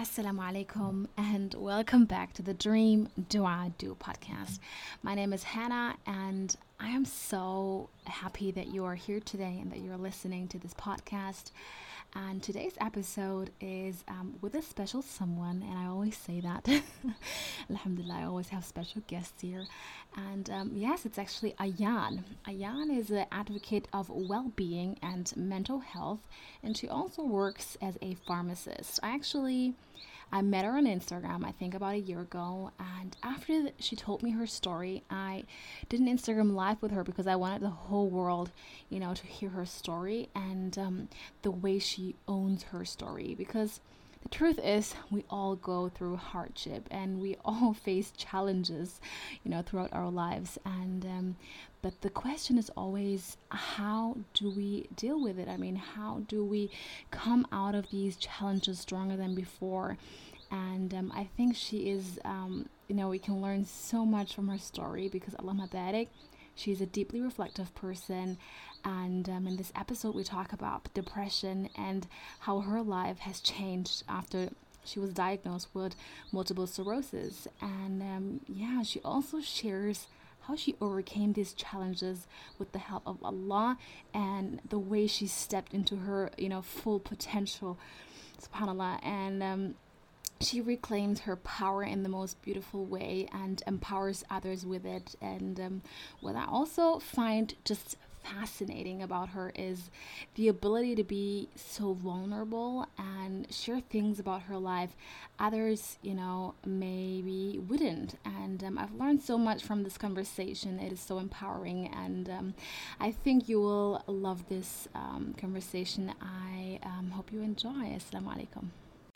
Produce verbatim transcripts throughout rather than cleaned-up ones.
Assalamu alaikum and welcome back to the Dream Dua Do podcast. My name is Hannah and I am so happy that you are here today and that you're listening to this podcast. And today's episode is um, with a special someone, and I always say that. Alhamdulillah, I always have special guests here. And um, yes, it's actually Ayan. Ayan is an advocate of well-being and mental health, and she also works as a pharmacist. I actually I met her on Instagram, I think about a year ago, and after th- she told me her story, I did an Instagram live with her because I wanted the whole world, you know, to hear her story and um, the way she owns her story. Because the truth is, we all go through hardship and we all face challenges, you know, throughout our lives. And um, but the question is always, how do we deal with it? I mean, how do we come out of these challenges stronger than before? And um, I think she is, um, you know, we can learn so much from her story because Allah Mabarak, she's a deeply reflective person. And um, in this episode, we talk about depression and how her life has changed after she was diagnosed with multiple sclerosis. And um, yeah, she also shares how she overcame these challenges with the help of Allah and the way she stepped into her, you know, full potential, subhanallah. And um, she reclaims her power in the most beautiful way and empowers others with it. And um, what I also find just fascinating about her is the ability to be so vulnerable and share things about her life others, you know, maybe wouldn't. And um, I've learned so much from this conversation. It is so empowering, and um, I think you will love this um, conversation. I um, hope you enjoy. Assalamu alaikum.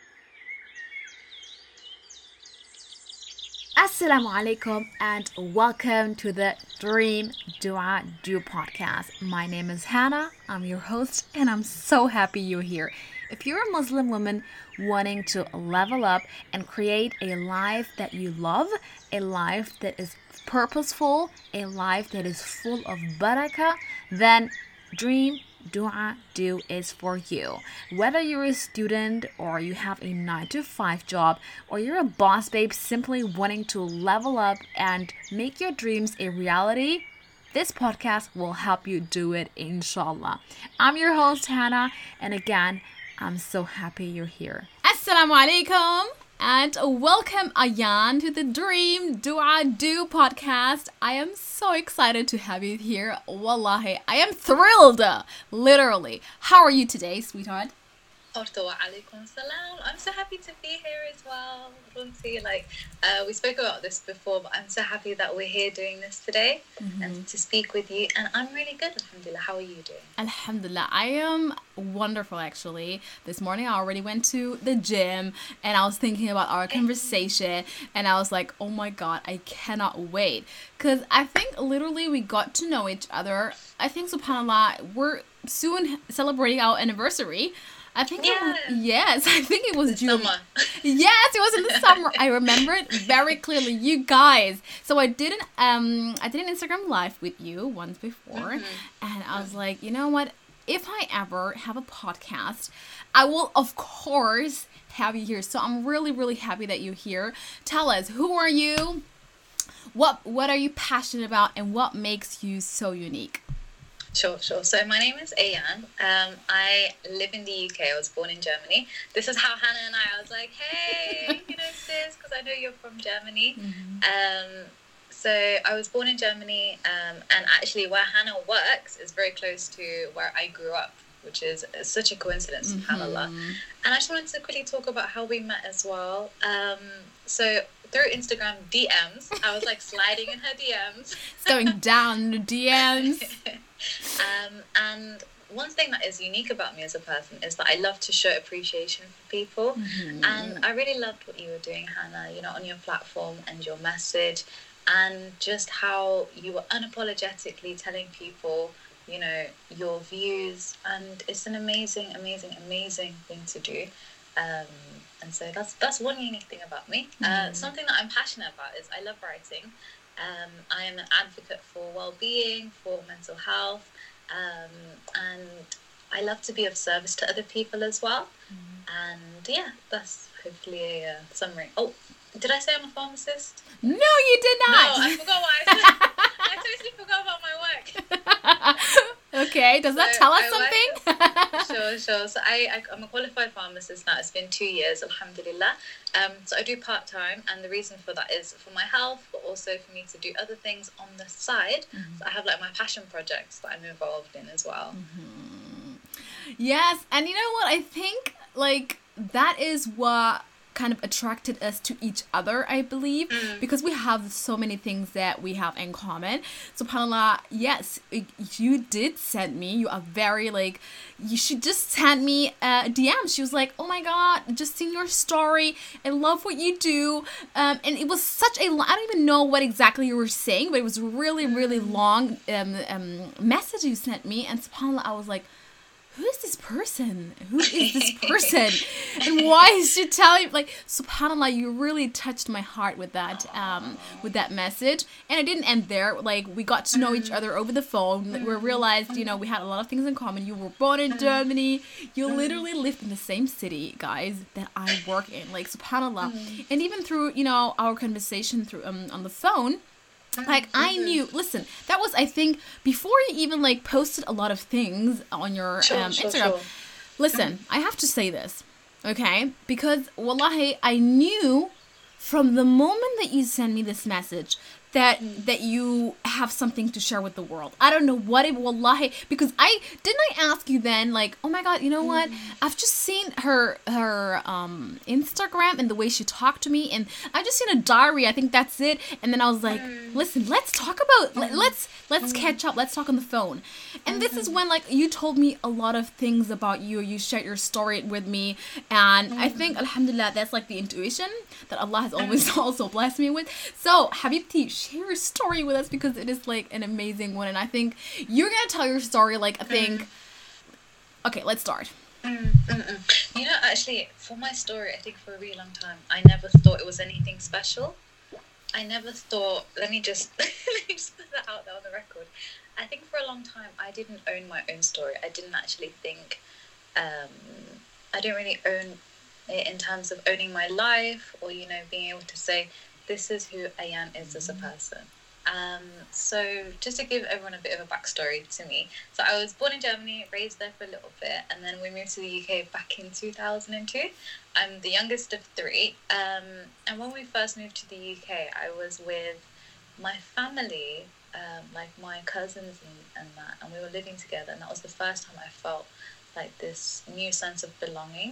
Assalamu alaikum and welcome to the Dream Dua Do podcast. My name is Hannah, I'm your host, and I'm so happy you're here. If you're a Muslim woman wanting to level up and create a life that you love, a life that is purposeful, a life that is full of barakah, then Dream Dua Do is for you. Whether you're a student or you have a nine to five job or you're a boss babe simply wanting to level up and make your dreams a reality, this podcast will help you do it, inshallah. I'm your host, Hannah, and again, I'm so happy you're here. Assalamu alaikum and welcome Ayan to the Dream Dua Do podcast. I am so excited to have you here. Wallahi, I am thrilled, literally. How are you today, sweetheart? Alaikum salam. I'm so happy to be here as well. Runti, like uh, we spoke about this before, but I'm so happy that we're here doing this today mm-hmm. and to speak with you. And I'm really good, alhamdulillah. How are you doing? Alhamdulillah, I am wonderful actually. This morning I already went to the gym and I was thinking about our conversation and I was like, oh my god, I cannot wait. Because I think literally we got to know each other. I think subhanAllah, we're soon celebrating our anniversary. I think yeah. it was, yes, I think it was the June. Summer. Yes, it was in the summer. I remember it very clearly. You guys. So I did an um I did an Instagram live with you once before, mm-hmm. and I was like, you know what? If I ever have a podcast, I will of course have you here. So I'm really really happy that you're here. Tell us, who are you? What what are you passionate about, and what makes you so unique? Sure, sure. So my name is Ayan. Um, I live in the U K. I was born in Germany. This is how Hannah and I, I was like, hey, you know this, because I know you're from Germany. Mm-hmm. Um, so I was born in Germany, um, and actually where Hannah works is very close to where I grew up, which is such a coincidence, mm-hmm. subhanAllah. And I just wanted to quickly talk about how we met as well. Um, so through Instagram D Ms, I was like sliding in her D Ms. It's going down the D Ms. um, and one thing that is unique about me as a person is that I love to show appreciation for people. Mm-hmm. And I really loved what you were doing, Hannah, you know, on your platform and your message, and just how you were unapologetically telling people, you know, your views. And it's an amazing, amazing, amazing thing to do. Um, and so that's that's one unique thing about me. Mm. Uh, something that I'm passionate about is I love writing. Um, I am an advocate for well-being, for mental health, um, and I love to be of service to other people as well. Mm. And yeah, that's hopefully a uh, summary. Oh, did I say I'm a pharmacist? No, you did not. No, I forgot what I said. I totally forgot about my work. Okay, does so that tell us I something? As, sure, sure. So I, I, I'm a qualified pharmacist now. It's been two years, alhamdulillah. Um, so I do part-time, and the reason for that is for my health, but also for me to do other things on the side. Mm-hmm. So I have like my passion projects that I'm involved in as well. Mm-hmm. Yes, and you know what? I think like that is what kind of attracted us to each other, I believe, mm. because we have so many things that we have in common. SubhanAllah, yes, you did send me, you are very like, you should just send me a D M. She was like, oh my God, just seen your story. I love what you do. Um, and it was such a, I don't even know what exactly you were saying, but it was really, really long um, um, message you sent me. And SubhanAllah, I was like, who is this person? Who is this person? And why is she telling, like, SubhanAllah, you really touched my heart with that, um, with that message. And it didn't end there. Like, we got to know each other over the phone. We realized, you know, we had a lot of things in common. You were born in Germany. You literally lived in the same city, guys, that I work in. Like, SubhanAllah. And even through, you know, our conversation through um, on the phone, like, I knew, listen, that was, I think, before you even, like, posted a lot of things on your sure, um, sure, Instagram. Sure. Listen, I have to say this, okay? Because, wallahi, I knew from the moment that you sent me this message that mm. that you have something to share with the world. I don't know what it, wallahi, because I, didn't I ask you then, like, oh my God, you know mm. what? I've just seen her, her um, Instagram and the way she talked to me, and I've just seen a diary, I think that's it. And then I was like, mm. listen, let's talk about, mm. let, let's, let's mm. catch up, let's talk on the phone. And mm-hmm. this is when, like, you told me a lot of things about you, you shared your story with me, and mm. I think, alhamdulillah, that's like the intuition that Allah has always mm. also blessed me with. So, Habibti, share your story with us, because it is like an amazing one, and I think you're gonna tell your story like I think mm. okay, let's start. mm, mm, mm. You know, actually, for my story, I think for a really long time I never thought it was anything special. I never thought, let me just let me just put that out there on the record. I think for a long time I didn't own my own story. I didn't actually think um I don't really own it in terms of owning my life, or, you know, being able to say, this is who Ayan is as a person. Um, so just to give everyone a bit of a backstory to me. So I was born in Germany, raised there for a little bit, and then we moved to the U K back in two thousand two. I'm the youngest of three. Um, and when we first moved to the U K, I was with my family, um, like my cousins and, and that, and we were living together. And that was the first time I felt like this new sense of belonging.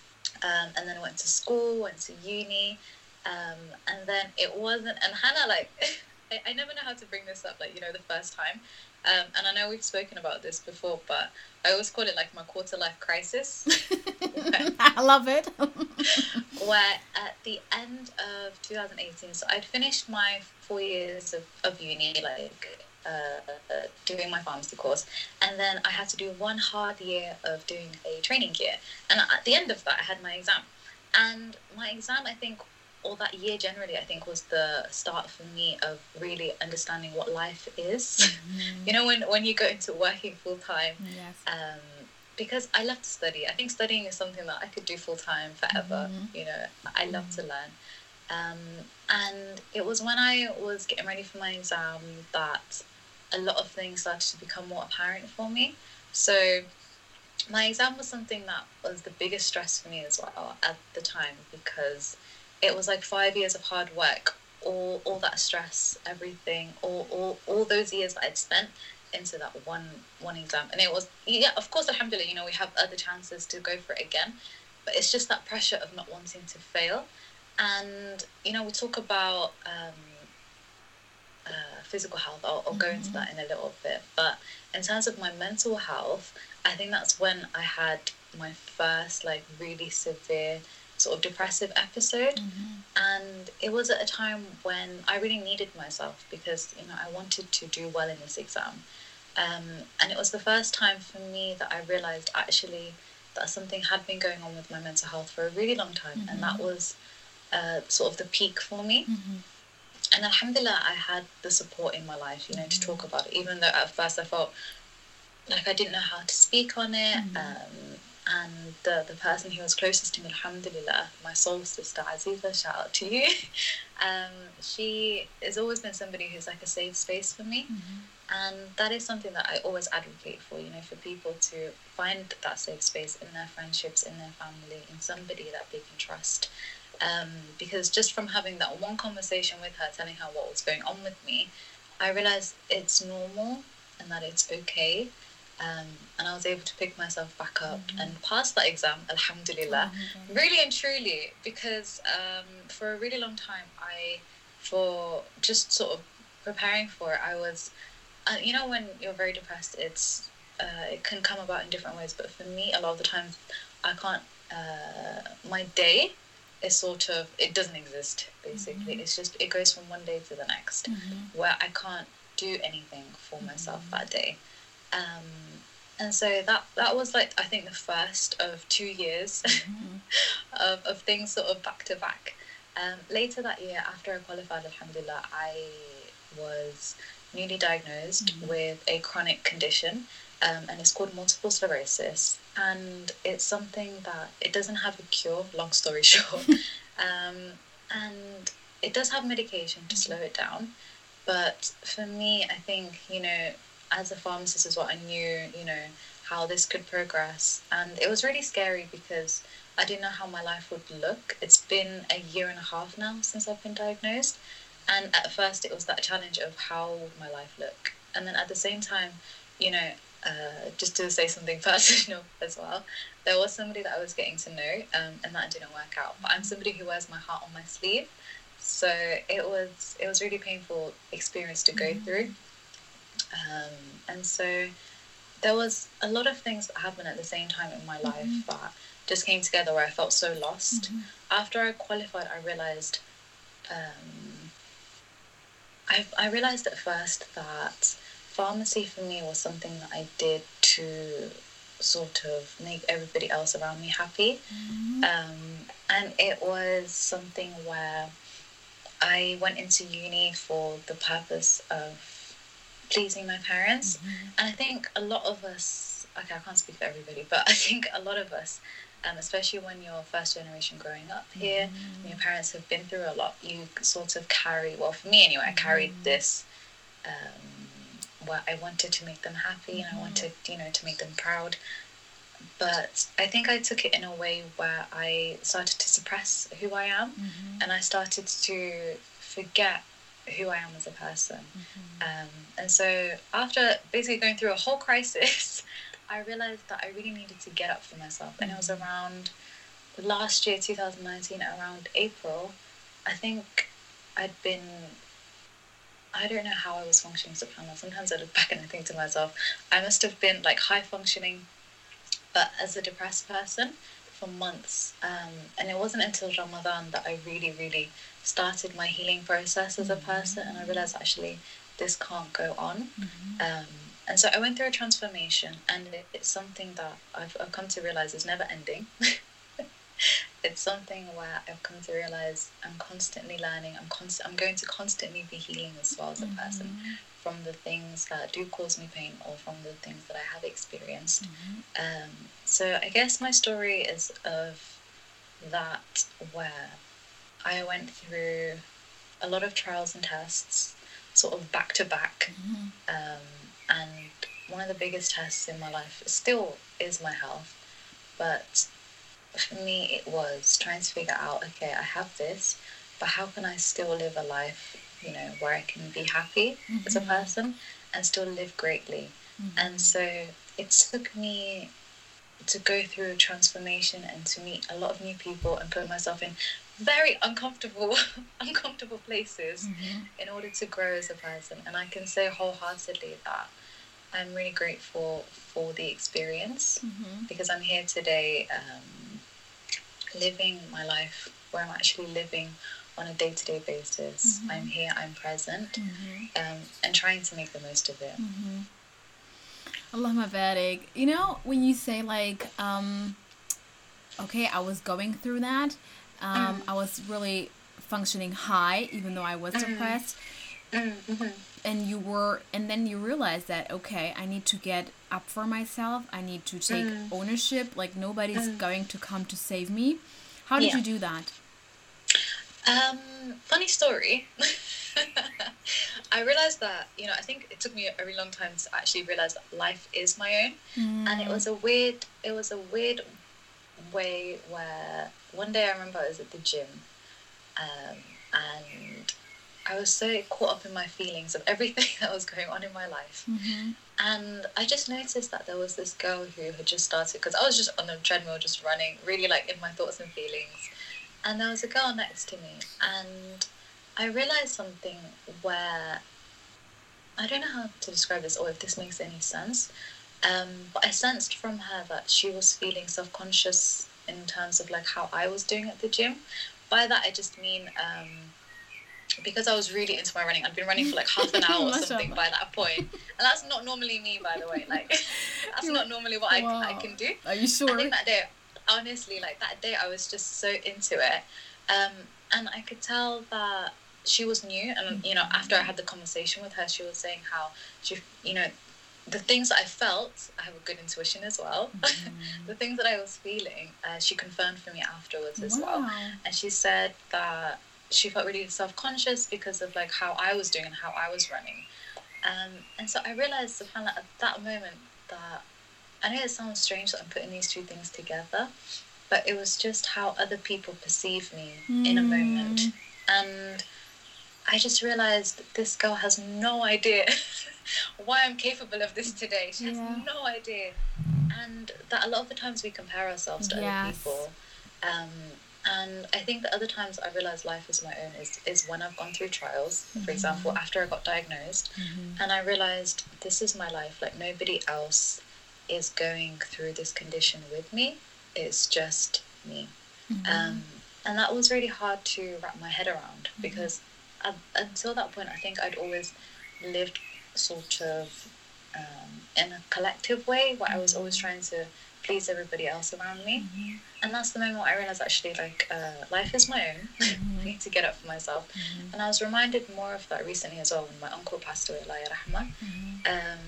Um, and then I went to school, went to uni. Um, and then it wasn't, and Hannah, like, I, I never know how to bring this up, like, you know, the first time. Um, and I know we've spoken about this before, but I always call it like my quarter life crisis. where, I love it. Where at the end of two thousand eighteen, so I'd finished my four years of, of uni, like, uh, uh, doing my pharmacy course. And then I had to do one hard year of doing a training year. And at the end of that, I had my exam. And my exam, I think, or that year generally, I think, was the start for me of really understanding what life is. Mm-hmm. You know, when, when you go into working full time, yes. um, because I love to study. I think studying is something that I could do full time forever. Mm-hmm. You know, I love mm-hmm. to learn. Um, and it was when I was getting ready for my exam that a lot of things started to become more apparent for me. So my exam was something that was the biggest stress for me as well at the time, because it was like five years of hard work, all all that stress, everything, all all, all those years that I'd spent into that one one exam. And it was, yeah, of course, alhamdulillah, you know, we have other chances to go for it again, but it's just that pressure of not wanting to fail. And, you know, we talk about um, uh, physical health. I'll, I'll mm-hmm. go into that in a little bit. But in terms of my mental health, I think that's when I had my first, like, really severe sort of depressive episode. Mm-hmm. And it was at a time when I really needed myself, because, you know, I wanted to do well in this exam. Um, and it was the first time for me that I realized actually that something had been going on with my mental health for a really long time. Mm-hmm. And that was uh, sort of the peak for me. Mm-hmm. And alhamdulillah, I had the support in my life, you know, mm-hmm. to talk about it, even though at first I felt like I didn't know how to speak on it. Mm-hmm. Um, and the, the person who was closest to me, alhamdulillah, my soul sister, Aziza, shout out to you. um, she has always been somebody who's like a safe space for me. Mm-hmm. And that is something that I always advocate for, you know, for people to find that safe space in their friendships, in their family, in somebody that they can trust. Um, because just from having that one conversation with her, telling her what was going on with me, I realized it's normal and that it's okay. Um, and I was able to pick myself back up mm-hmm. and pass that exam, alhamdulillah, oh, really and truly, because um, for a really long time, I, for just sort of preparing for it, I was, uh, you know, when you're very depressed, it's uh, it can come about in different ways, but for me, a lot of the times, I can't, uh, my day is sort of, it doesn't exist, basically. Mm-hmm. It's just, it goes from one day to the next, mm-hmm. where I can't do anything for mm-hmm. myself that day. Um, and so that that was like, I think, the first of two years mm-hmm. of, of things sort of back to back. Um, later that year, after I qualified, alhamdulillah, I was newly diagnosed mm-hmm. with a chronic condition, um, and it's called multiple sclerosis. And it's something that, it doesn't have a cure, long story short. um, and it does have medication to slow it down. But for me, I think, you know, as a pharmacist is what I knew, you know, how this could progress. And it was really scary because I didn't know how my life would look. It's been a year and a half now since I've been diagnosed. And at first it was that challenge of how would my life look. And then at the same time, you know, uh, just to say something personal as well, there was somebody that I was getting to know, um, and that didn't work out. But I'm somebody who wears my heart on my sleeve. So it was, it was really painful experience to go mm-hmm. through. Um, and so there was a lot of things that happened at the same time in my life mm-hmm. that just came together where I felt so lost. Mm-hmm. After I qualified, I realized, um, I, I realized at first that pharmacy for me was something that I did to sort of make everybody else around me happy. Mm-hmm. Um, and it was something where I went into uni for the purpose of pleasing my parents. Mm-hmm. And I think a lot of us, okay, I can't speak for everybody, but I think a lot of us, um, especially when you're first generation growing up here, mm-hmm. and your parents have been through a lot, you sort of carry, well, for me anyway, I carried mm-hmm. this, um, where I wanted to make them happy mm-hmm. and I wanted, you know, to make them proud. But I think I took it in a way where I started to suppress who I am, mm-hmm. and I started to forget who I am as a person. Mm-hmm. Um, and so after basically going through a whole crisis, I realized that I really needed to get up for myself. Mm-hmm. And it was around last year, two thousand nineteen, around April, I think I'd been, I don't know how I was functioning, subhanAllah. Sometimes I look back and I think to myself, I must have been like high functioning, but as a depressed person for months. Um, and it wasn't until Ramadan that I really, really started my healing process as a person, and I realized actually this can't go on. Mm-hmm. Um, and so I went through a transformation, and it, it's something that I've, I've come to realize is never ending. It's something where I've come to realize I'm constantly learning. I'm const- I'm going to constantly be healing as well as a mm-hmm. person, from the things that do cause me pain or from the things that I have experienced. Mm-hmm. Um, so I guess my story is of that, where I went through a lot of trials and tests, sort of back to back. Mm-hmm. Um, and one of the biggest tests in my life still is my health. But for me, it was trying to figure out, okay, I have this, but how can I still live a life, you know, where I can be happy mm-hmm. as a person and still live greatly. Mm-hmm. And so it took me to go through a transformation and to meet a lot of new people and put myself in very uncomfortable uncomfortable places mm-hmm. in order to grow as a person. And I can say wholeheartedly that I'm really grateful for the experience mm-hmm. because I'm here today um, living my life where I'm actually living on a day-to-day basis. Mm-hmm. I'm here, I'm present, mm-hmm. um, and trying to make the most of it. Mm-hmm. Allahumma barik. You know, when you say like, um, okay, I was going through that, um, mm. I was really functioning high, even though I was mm. depressed. Mm-hmm. And you were, and then you realized that, okay, I need to get up for myself. I need to take Mm. ownership. Like, nobody's Mm. going to come to save me. How did Yeah. you do that? Um, funny story. I realized that, you know, I think it took me a really long time to actually realize that life is my own. Mm. And it was a weird, it was a weird way where one day I remember I was at the gym, um, and I was so caught up in my feelings of everything that was going on in my life. Mm-hmm. And I just noticed that there was this girl who had just started, because I was just on the treadmill, just running, really like in my thoughts and feelings. And there was a girl next to me, and I realized something where, I don't know how to describe this or if this makes any sense, um, but I sensed from her that she was feeling self-conscious in terms of like how I was doing at the gym. By that I just mean, um, because I was really into my running, I'd been running for like half an hour or something by that point, and that's not normally me, by the way, like that's You're, not normally what wow. I, I can do. Are you sure? I think that day, honestly, like that day I was just so into it, um, and I could tell that she was new, and you know, after I had the conversation with her, she was saying how she, you know, the things that I felt, I have a good intuition as well. Mm. The things that I was feeling, uh, she confirmed for me afterwards as wow. well, and she said that she felt really self-conscious because of like how I was doing and how I was running, um, and so I realized at that moment that, I know it sounds strange that I'm putting these two things together, but it was just how other people perceive me mm. in a moment. And I just realized this girl has no idea why I'm capable of this today. She yeah. has no idea. And that a lot of the times we compare ourselves to yes. other people. Um, and I think that other times I realized life is my own is, is when I've gone through trials, mm-hmm. for example, after I got diagnosed, mm-hmm. and I realized this is my life. Like, nobody else is going through this condition with me. It's just me. Mm-hmm. Um, and that was really hard to wrap my head around, mm-hmm. because I, until that point, I think I'd always lived sort of um, in a collective way where mm-hmm. I was always trying to please everybody else around me. Mm-hmm. And that's the moment I realized actually, like, uh, life is my own. Mm-hmm. I need to get up for myself. Mm-hmm. And I was reminded more of that recently as well when my uncle passed away, Allah yarahmah. Mm-hmm. Um,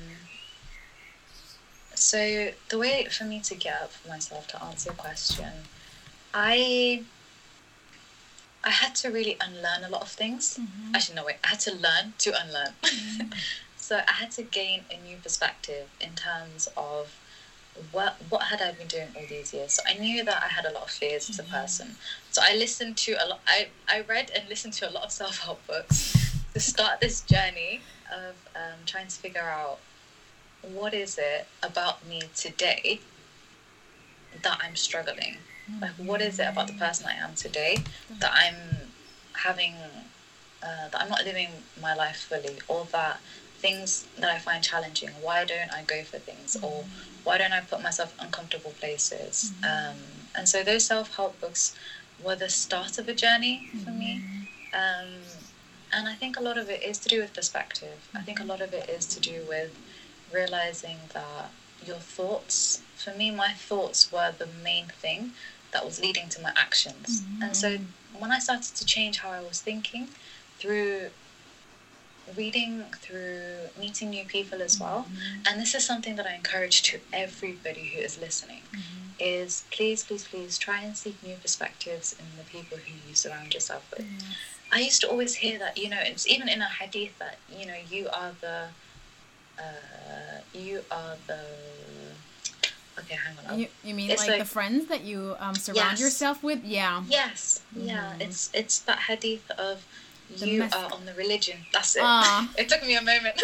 so the way for me to get up for myself, to answer your question, I I had to really unlearn a lot of things. Mm-hmm. Actually, no, wait, I had to learn to unlearn. Mm-hmm. So I had to gain a new perspective in terms of what what had I been doing all these years. So I knew that I had a lot of fears mm-hmm. as a person. So I listened to a lot, I, I read and listened to a lot of self-help books to start this journey of um, trying to figure out what is it about me today that I'm struggling. Like, what is it about the person I am today that I'm having, uh, that I'm not living my life fully, or that things that I find challenging, why don't I go for things, mm-hmm. or why don't I put myself in uncomfortable places? Mm-hmm. Um, and so those self-help books were the start of a journey for mm-hmm. me. Um, and I think a lot of it is to do with perspective. Mm-hmm. I think a lot of it is to do with realizing that your thoughts, for me, my thoughts were the main thing that was leading to my actions. Mm-hmm. And so when I started to change how I was thinking through reading, through meeting new people as well, mm-hmm. and this is something that I encourage to everybody who is listening, mm-hmm. is please, please, please try and seek new perspectives in the people who you surround yourself with. Mm-hmm. I used to always hear that, you know, it's even in a hadith that, you know, you are the uh, you are the okay hang on you, you mean like, like the friends that you um, surround yes. yourself with? Yeah. Yes. Mm-hmm. Yeah. It's it's that hadith of the you mes- are on the religion. That's it. It took me a moment.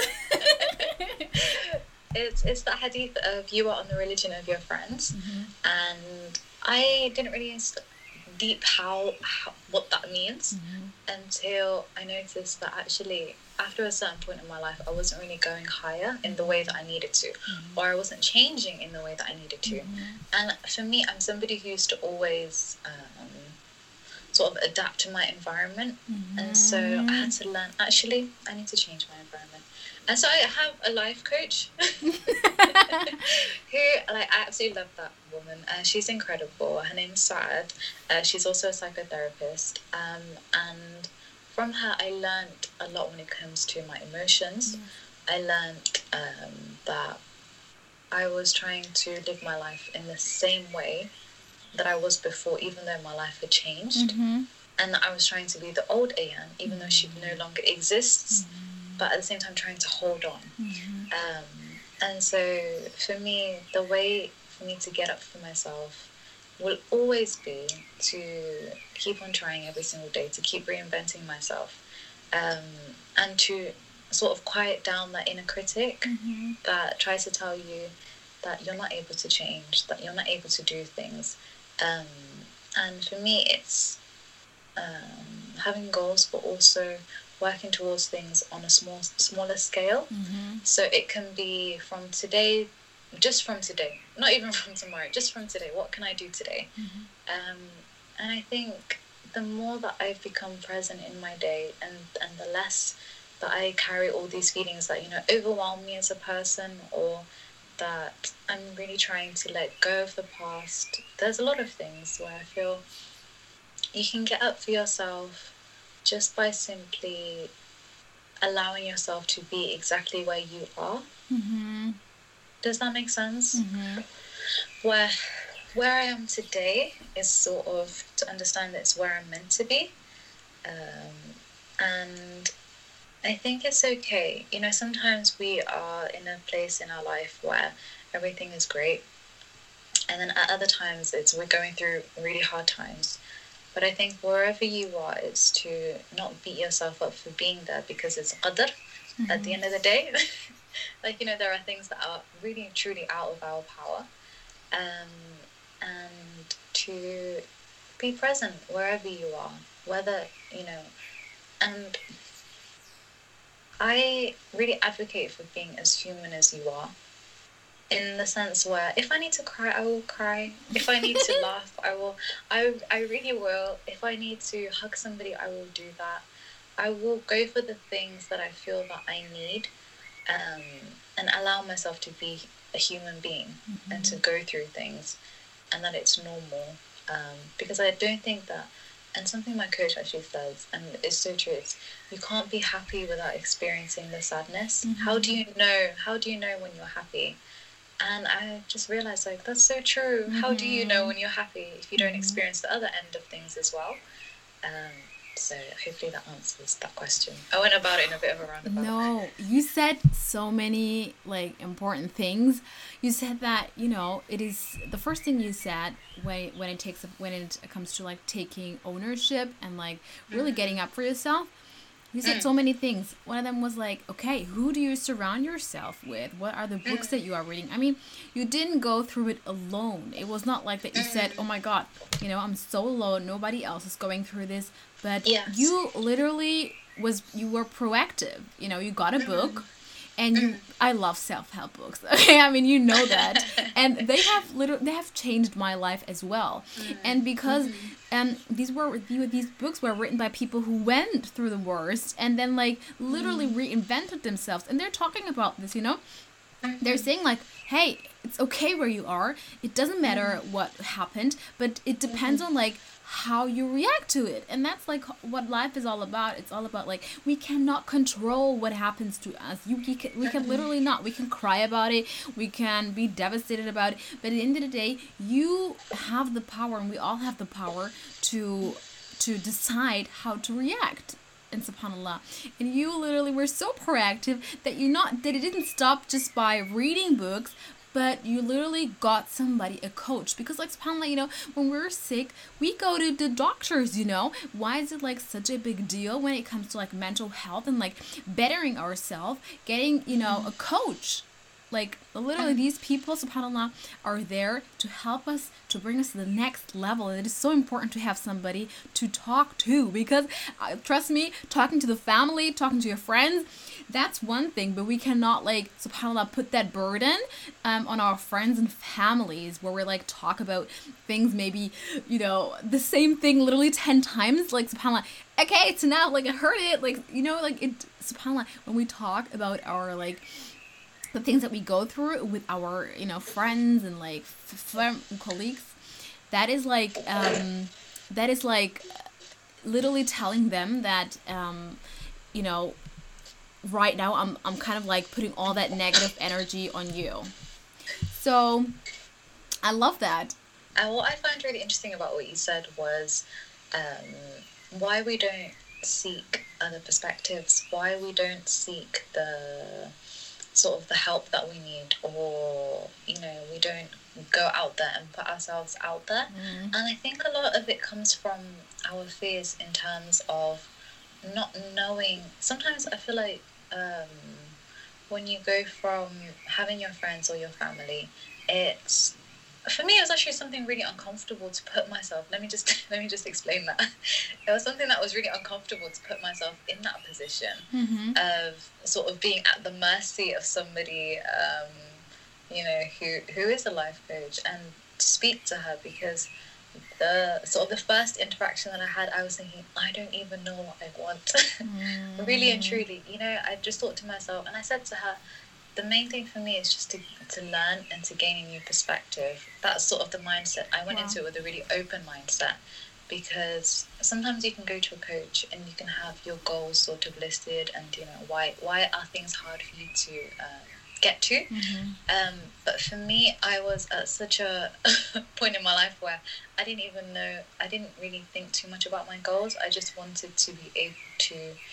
it's it's that hadith of you are on the religion of your friends, mm-hmm. and I didn't really deep how, how what that means mm-hmm. until I noticed that actually after a certain point in my life I wasn't really going higher in the way that I needed to, mm-hmm. or I wasn't changing in the way that I needed to. Mm-hmm. And for me, I'm somebody who used to always um, sort of adapt to my environment, mm-hmm. and so I had to learn, actually I need to change my environment. And so I have a life coach who, like, I absolutely love that woman. Uh, she's incredible. Her name's Saad. Uh, she's also a psychotherapist. Um, and from her, I learned a lot when it comes to my emotions. Mm. I learned um, that I was trying to live my life in the same way that I was before, even though my life had changed. Mm-hmm. And I was trying to be the old Ayan, even mm-hmm. though she no longer exists, mm-hmm. but at the same time trying to hold on. Mm-hmm. Um, and so for me, the way for me to get up for myself will always be to keep on trying every single day, to keep reinventing myself, um, and to sort of quiet down that inner critic mm-hmm. that tries to tell you that you're not able to change, that you're not able to do things. Um, and for me, it's um, having goals, but also working towards things on a small, smaller scale. Mm-hmm. So it can be from today, just from today, not even from tomorrow, just from today. What can I do today? Mm-hmm. Um, and I think the more that I've become present in my day, and, and the less that I carry all these feelings that, you know, overwhelm me as a person, or that I'm really trying to let go of the past. There's a lot of things where I feel you can get up for yourself just by simply allowing yourself to be exactly where you are. Mm-hmm. Does that make sense? Mm-hmm. Where where I am today is sort of to understand that it's where I'm meant to be. Um, and I think it's okay. You know, sometimes we are in a place in our life where everything is great. And then at other times, it's we're going through really hard times. But I think wherever you are, it's to not beat yourself up for being there, because it's qadr mm-hmm. at the end of the day. Like, you know, there are things that are really, truly out of our power. Um, and to be present wherever you are, whether, you know, and I really advocate for being as human as you are, in the sense where if I need to cry, I will cry. If I need to laugh, I will. I I really will. If I need to hug somebody, I will do that. I will go for the things that I feel that I need, um, and allow myself to be a human being mm-hmm. and to go through things, and that it's normal. Um, because I don't think that. And something my coach actually says, and it's so true, it's you can't be happy without experiencing the sadness. Mm-hmm. How do you know? How do you know when you're happy? And I just realized, like, that's so true. Mm-hmm. How do you know when you're happy if you don't mm-hmm. experience the other end of things as well? Um, so hopefully that answers that question. I went about it in a bit of a roundabout. No, you said so many, like, important things. You said that, you know, it is the first thing you said when when it takes when it comes to like taking ownership and like really mm-hmm. getting up for yourself. You said mm. so many things. One of them was like, okay, who do you surround yourself with? What are the books mm. that you are reading? I mean, you didn't go through it alone. It was not like that you said, oh my God, you know, I'm so alone. Nobody else is going through this. But yes. you literally was, you were proactive. You know, you got a book. And you, I love self-help books. Okay, I mean, you know that, and they have literally they have changed my life as well. Mm-hmm. And because, um, these were these books were written by people who went through the worst and then like literally mm-hmm. reinvented themselves. And they're talking about this, you know, mm-hmm. they're saying like, hey, it's okay where you are. It doesn't matter mm-hmm. what happened, but it depends mm-hmm. on like how you react to it. And that's like what life is all about. It's all about like we cannot control what happens to us. You we can, we can literally not. We can cry about it, we can be devastated about it, but at the end of the day you have the power, and we all have the power to to decide how to react. And subhanAllah, and you literally were so proactive that you not that it didn't stop just by reading books, but you literally got somebody, a coach. Because like subhanAllah, you know, when we're sick, we go to the doctors, you know. Why is it like such a big deal when it comes to like mental health and like bettering ourselves, getting, you know, a coach? Like literally these people, subhanAllah, are there to help us, to bring us to the next level. It is so important to have somebody to talk to, because uh, trust me, talking to the family, talking to your friends, that's one thing, but we cannot like, subhanAllah, put that burden um, on our friends and families where we're like talk about things maybe, you know, the same thing literally ten times, like subhanAllah, okay, it's enough, like I heard it, like, you know, like it, subhanAllah, when we talk about our like, the things that we go through with our, you know, friends and like f- f- colleagues, that is like, um, that is like, literally telling them that, um, you know, right now I'm, I'm kind of like putting all that negative energy on you. So I love that. And what I find really interesting about what you said was um, why we don't seek other perspectives, why we don't seek the sort of the help that we need, or, you know, we don't go out there and put ourselves out there. Mm. And I think a lot of it comes from our fears in terms of not knowing. Sometimes I feel like um, when you go from having your friends or your family, it's, for me, it was actually something really uncomfortable to put myself. Let me just let me just explain that. It was something that was really uncomfortable to put myself in that position mm-hmm. of sort of being at the mercy of somebody, um, you know, who who is a life coach, and to speak to her, because the sort of the first interaction that I had, I was thinking, I don't even know what I want. mm. Really and truly, you know, I just thought to myself, and I said to her, the main thing for me is just to, to learn and to gain a new perspective. That's sort of the mindset. I went wow. into it with a really open mindset, because sometimes you can go to a coach and you can have your goals sort of listed, and, you know, why why are things hard for you to uh, get to? Mm-hmm. Um, but for me, I was at such a point in my life where I didn't even know, I didn't really think too much about my goals. I just wanted to be able to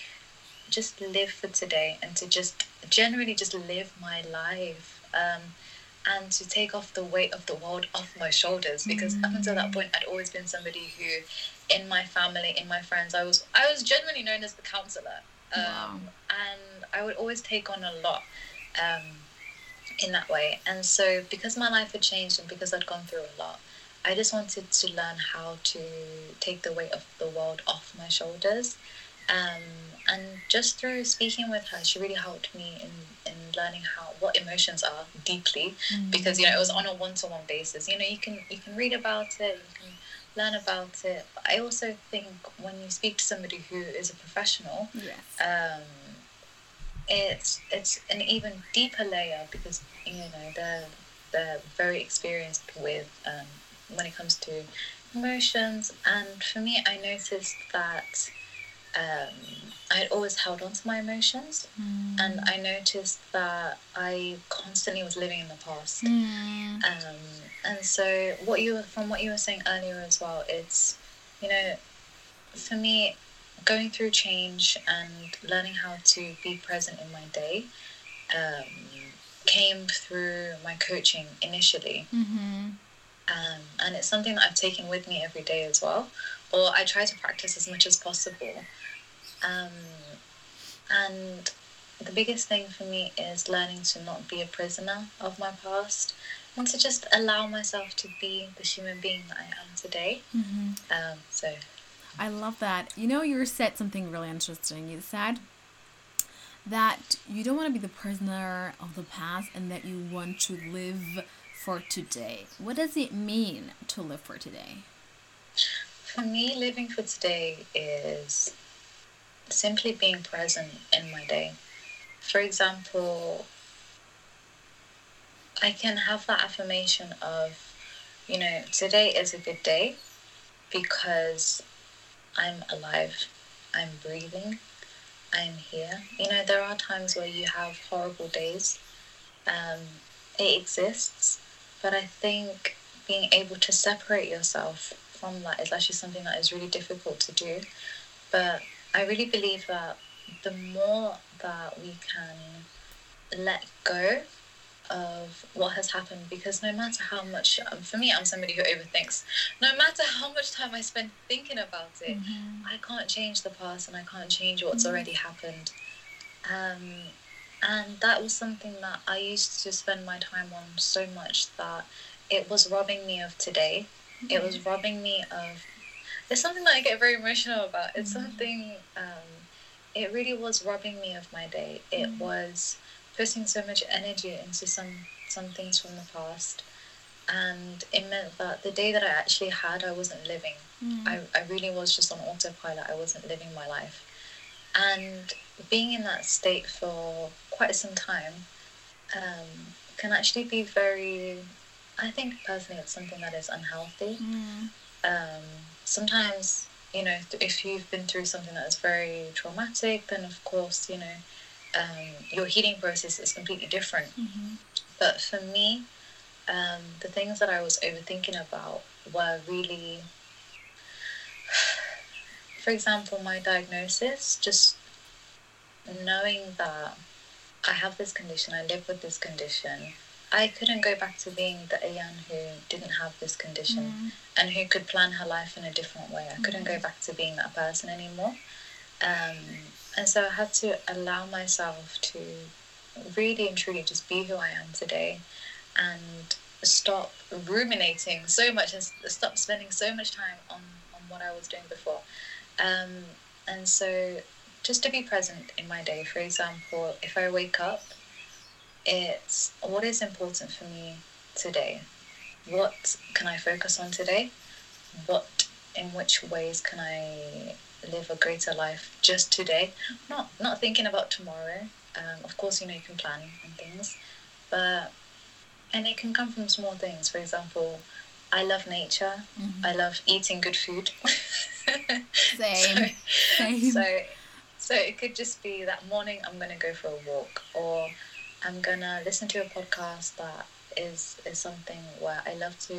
just live for today, and to just generally just live my life, um, and to take off the weight of the world off my shoulders, because mm. up until that point I'd always been somebody who, in my family, in my friends, I was I was generally known as the counselor, um, wow. and I would always take on a lot um, in that way. And so because my life had changed and because I'd gone through a lot, I just wanted to learn how to take the weight of the world off my shoulders. Um, and just through speaking with her, she really helped me in, in learning how what emotions are deeply, mm-hmm. because, you know, it was on a one-to-one basis. You know, you can you can read about it, you can learn about it, but I also think when you speak to somebody who is a professional, yes. um, it's it's an even deeper layer, because, you know, they're they're very experienced with um, when it comes to emotions. And for me, I noticed that Um, I had always held on to my emotions, mm. and I noticed that I constantly was living in the past. Mm. Um, and so, what you were, from what you were saying earlier as well, it's, you know, for me, going through change and learning how to be present in my day um, came through my coaching initially. Mm-hmm. Um, and it's something that I've taken with me every day as well, or I try to practice as much as possible. Um, and the biggest thing for me is learning to not be a prisoner of my past, and to just allow myself to be the human being that I am today. Mm-hmm. Um, so I love that. You know, you said something really interesting. You said that you don't want to be the prisoner of the past, and that you want to live for today. What does it mean to live for today? For me, living for today is simply being present in my day. For example, I can have that affirmation of, you know, today is a good day because I'm alive, I'm breathing, I'm here. You know, there are times where you have horrible days. Um, it exists, but I think being able to separate yourself from that is actually something that is really difficult to do. But I really believe that the more that we can let go of what has happened, because no matter how much, um, for me, I'm somebody who overthinks, no matter how much time I spend thinking about it, mm-hmm. I can't change the past, and I can't change what's mm-hmm. already happened. Um, and that was something that I used to spend my time on so much that it was robbing me of today. Mm-hmm. It was robbing me of, it's something that I get very emotional about. It's mm-hmm. something, um, it really was robbing me of my day. It mm-hmm. was putting so much energy into some, some things from the past. And it meant that the day that I actually had, I wasn't living. Mm-hmm. I, I really was just on autopilot. I wasn't living my life. And being in that state for quite some time um, can actually be very, I think personally it's something that is unhealthy. Mm. Um, sometimes you know, if you've been through something that is very traumatic, then of course, you know, um, your healing process is completely different. Mm-hmm. But for me, um, the things that I was overthinking about were really, for example, my diagnosis, just knowing that I have this condition, I live with this condition. I couldn't go back to being the Ayan who didn't have this condition mm. and who could plan her life in a different way. I couldn't mm. go back to being that person anymore. Um, and so I had to allow myself to really and truly just be who I am today and stop ruminating so much and stop spending so much time on, on what I was doing before. Um, and so just to be present in my day. For example, if I wake up, it's what is important for me today? What can I focus on today? What, in which ways can I live a greater life just today? Not not thinking about tomorrow. Um, of course, you know, you can plan and things, but, and it can come from small things. For example, I love nature. Mm-hmm. I love eating good food. Same. so, Same. So, so it could just be that morning I'm going to go for a walk, or I'm going to listen to a podcast that is, is something where I love to,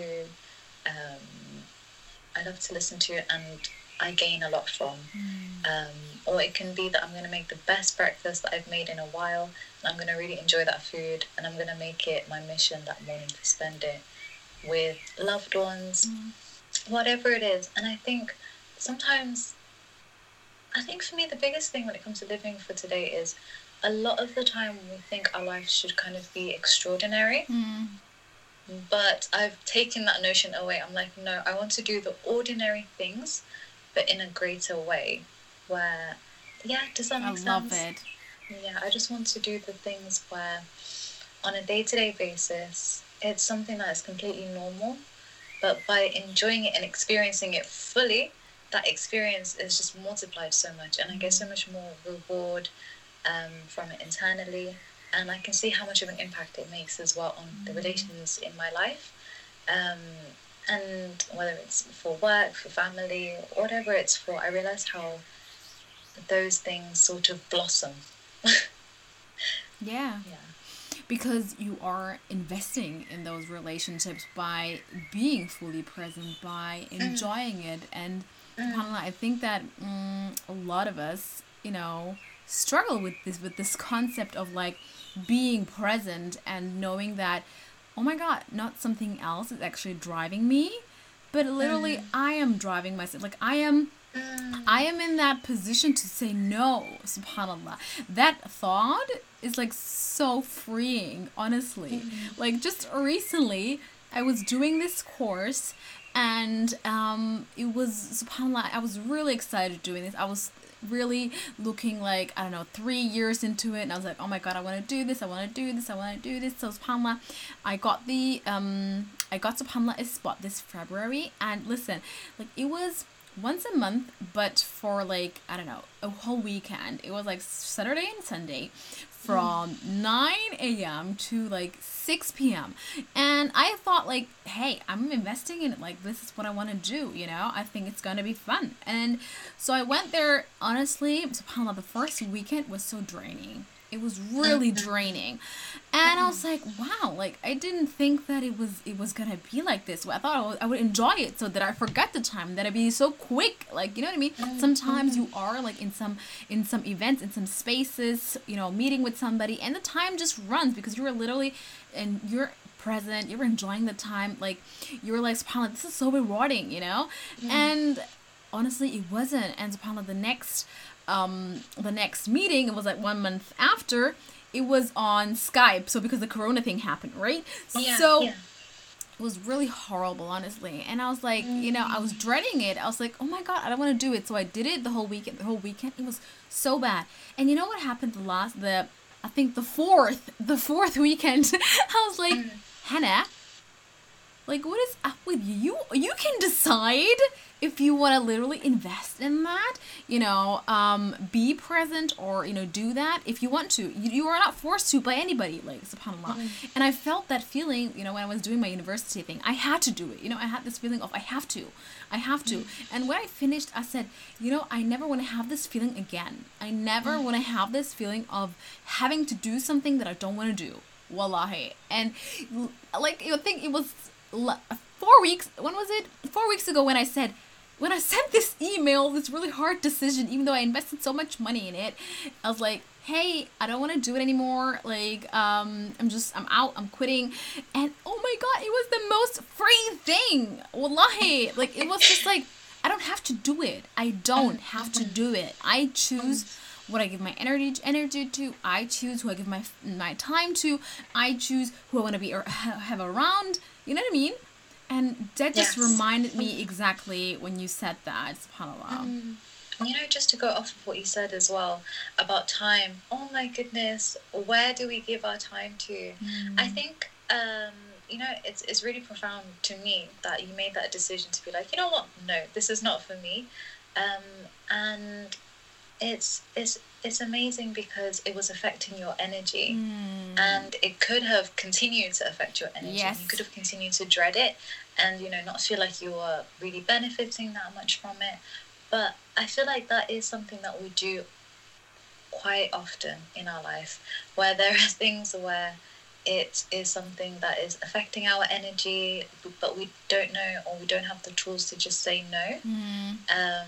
um, I love to listen to and I gain a lot from. Mm. Um, or it can be that I'm going to make the best breakfast that I've made in a while, and I'm going to really enjoy that food, and I'm going to make it my mission that morning to spend it with loved ones, mm. whatever it is. And I think sometimes, I think for me the biggest thing when it comes to living for today is a lot of the time we think our life should kind of be extraordinary. Mm. But I've taken that notion away. I'm like, no, I want to do the ordinary things, but in a greater way. Where, yeah, does that make I sense? I love it. Yeah, I just want to do the things where, on a day-to-day basis, it's something that is completely normal. But by enjoying it and experiencing it fully, that experience is just multiplied so much. And I get so much more reward um, from it internally. And I can see how much of an impact it makes as well on mm. the relations in my life. Um, and whether it's for work, for family, whatever it's for, I realize how those things sort of blossom. yeah. Yeah. Because you are investing in those relationships by being fully present, by enjoying mm. it. And mm. subhanAllah, I think that mm, a lot of us, you know, struggle with this with this concept of like being present and knowing that, oh my God, not something else is actually driving me, but literally mm. I am driving myself. Like I am mm. I am in that position to say no, subhanAllah. That thought is like so freeing, honestly. Mm. Like just recently I was doing this course and um it was, subhanAllah, I was really excited doing this. I was really looking like, I don't know, three years into it, and I was like, oh my God, I want to do this, I want to do this, I want to do this. So subhanAllah, I got the um I got subhanAllah a spot this February, and listen, like it was once a month, but for like, I don't know, a whole weekend. It was like Saturday and Sunday from mm. nine a.m. to like six p.m. And I thought like, hey, I'm investing in it. Like, this is what I want to do, you know? I think it's going to be fun. And so I went there, honestly, subhanAllah, the first weekend was so draining. It was really draining. And I was like, wow, like I didn't think that it was it was going to be like this. I thought I would, I would enjoy it so that I forget the time, that it'd be so quick. Like, you know what I mean? Sometimes you are like in some in some events, in some spaces, you know, meeting with somebody, and the time just runs because you're literally and you're present, you're enjoying the time. Like you're like, subhanAllah, this is so rewarding, you know? Mm. And honestly, it wasn't. And subhanAllah, the next um the next meeting, it was like one month after, it was on Skype. So because the corona thing happened, right? Yeah, so yeah. It was really horrible, honestly. And I was like, mm. you know, I was dreading it. I was like, oh my God, I don't want to do it. So I did it the whole weekend. The whole weekend, it was so bad. And you know what happened the last, the I think the fourth, the fourth weekend? I was like, mm. Hannah, Like, what is up with you? You can decide if you want to literally invest in that, you know, um, be present or, you know, do that if you want to. You, you are not forced to by anybody, like, subhanAllah. Mm-hmm. And I felt that feeling, you know, when I was doing my university thing. I had to do it. You know, I had this feeling of I have to. I have to. Mm-hmm. And when I finished, I said, you know, I never want to have this feeling again. I never mm-hmm. want to have this feeling of having to do something that I don't want to do. Wallahi. And, like, you think it was four weeks, when was it? Four weeks ago when I said, when I sent this email, this really hard decision, even though I invested so much money in it, I was like, hey, I don't want to do it anymore. Like, um, I'm just, I'm out, I'm quitting. And oh my God, it was the most freeing thing. Wallahi. Like, it was just like, I don't have to do it. I don't have to do it. I choose what I give my energy energy to. I choose who I give my my time to. I choose who I want to be or have around. You know what I mean? And that just yes. reminded me exactly when you said that, subhanAllah. Um, you know, just to go off of what you said as well about time. Oh my goodness, where do we give our time to? Mm. I think, um, you know, it's it's really profound to me that you made that decision to be like, you know what? No, this is not for me. Um, and it's it's it's amazing because it was affecting your energy mm. and it could have continued to affect your energy. Yes. You could have continued to dread it and, you know, not feel like you were really benefiting that much from it. But I feel like that is something that we do quite often in our life, where there are things where it is something that is affecting our energy, but we don't know or we don't have the tools to just say no. Mm. Um,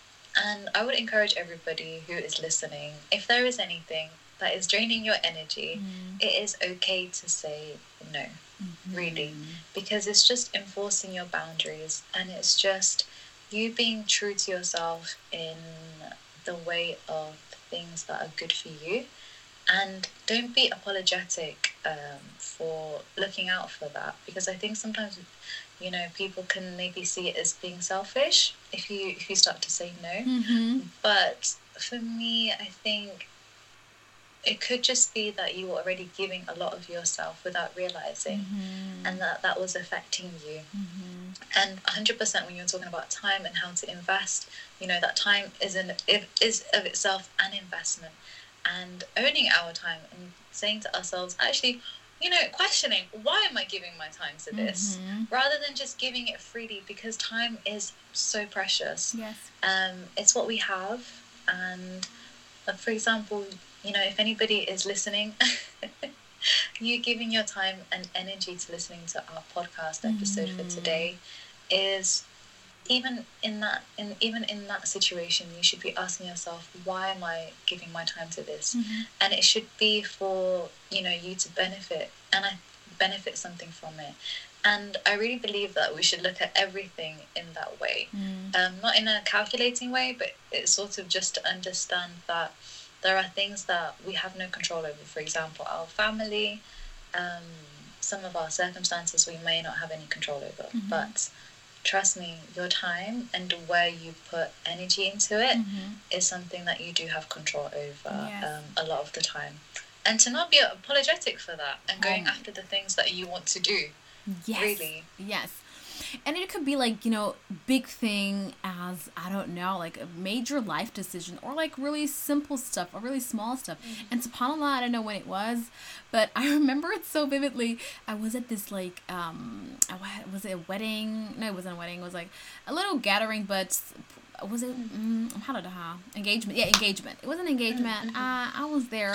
And I would encourage everybody who is listening, if there is anything that is draining your energy, mm. it is okay to say no, mm-hmm. really, because it's just enforcing your boundaries and it's just you being true to yourself in the way of things that are good for you. And don't be apologetic um, for looking out for that, because I think sometimes, you know, people can maybe see it as being selfish if you if you start to say no. Mm-hmm. But for me, I think it could just be that you were already giving a lot of yourself without realizing, mm-hmm. and that that was affecting you. Mm-hmm. And one hundred percent when you're talking about time and how to invest, you know, that time is in it is of itself an investment. And owning our time and saying to ourselves, actually, you know, questioning, why am I giving my time to this? Mm-hmm. Rather than just giving it freely, because time is so precious. Yes. Um, it's what we have. And uh, for example, you know, if anybody is listening, you giving your time and energy to listening to our podcast episode mm-hmm. for today is... Even in that, in even in that situation, you should be asking yourself, why am I giving my time to this? Mm-hmm. And it should be for, you know, you to benefit, and I benefit something from it. And I really believe that we should look at everything in that way, mm. um, not in a calculating way, but it's sort of just to understand that there are things that we have no control over. For example, our family, um, some of our circumstances we may not have any control over, mm-hmm. but trust me, your time and where you put energy into it mm-hmm. is something that you do have control over yes. um, a lot of the time. And to not be apologetic for that and going oh. after the things that you want to do. Yes. Really. Yes. And it could be like, you know, big thing as, I don't know, like a major life decision or like really simple stuff or really small stuff. Mm-hmm. And subhanAllah, I don't know when it was, but I remember it so vividly. I was at this like, um, was it a wedding? No, it wasn't a wedding. It was like a little gathering, but was it mm, how did I engagement? Yeah, engagement. It was an engagement. Mm-hmm. Uh, I was there,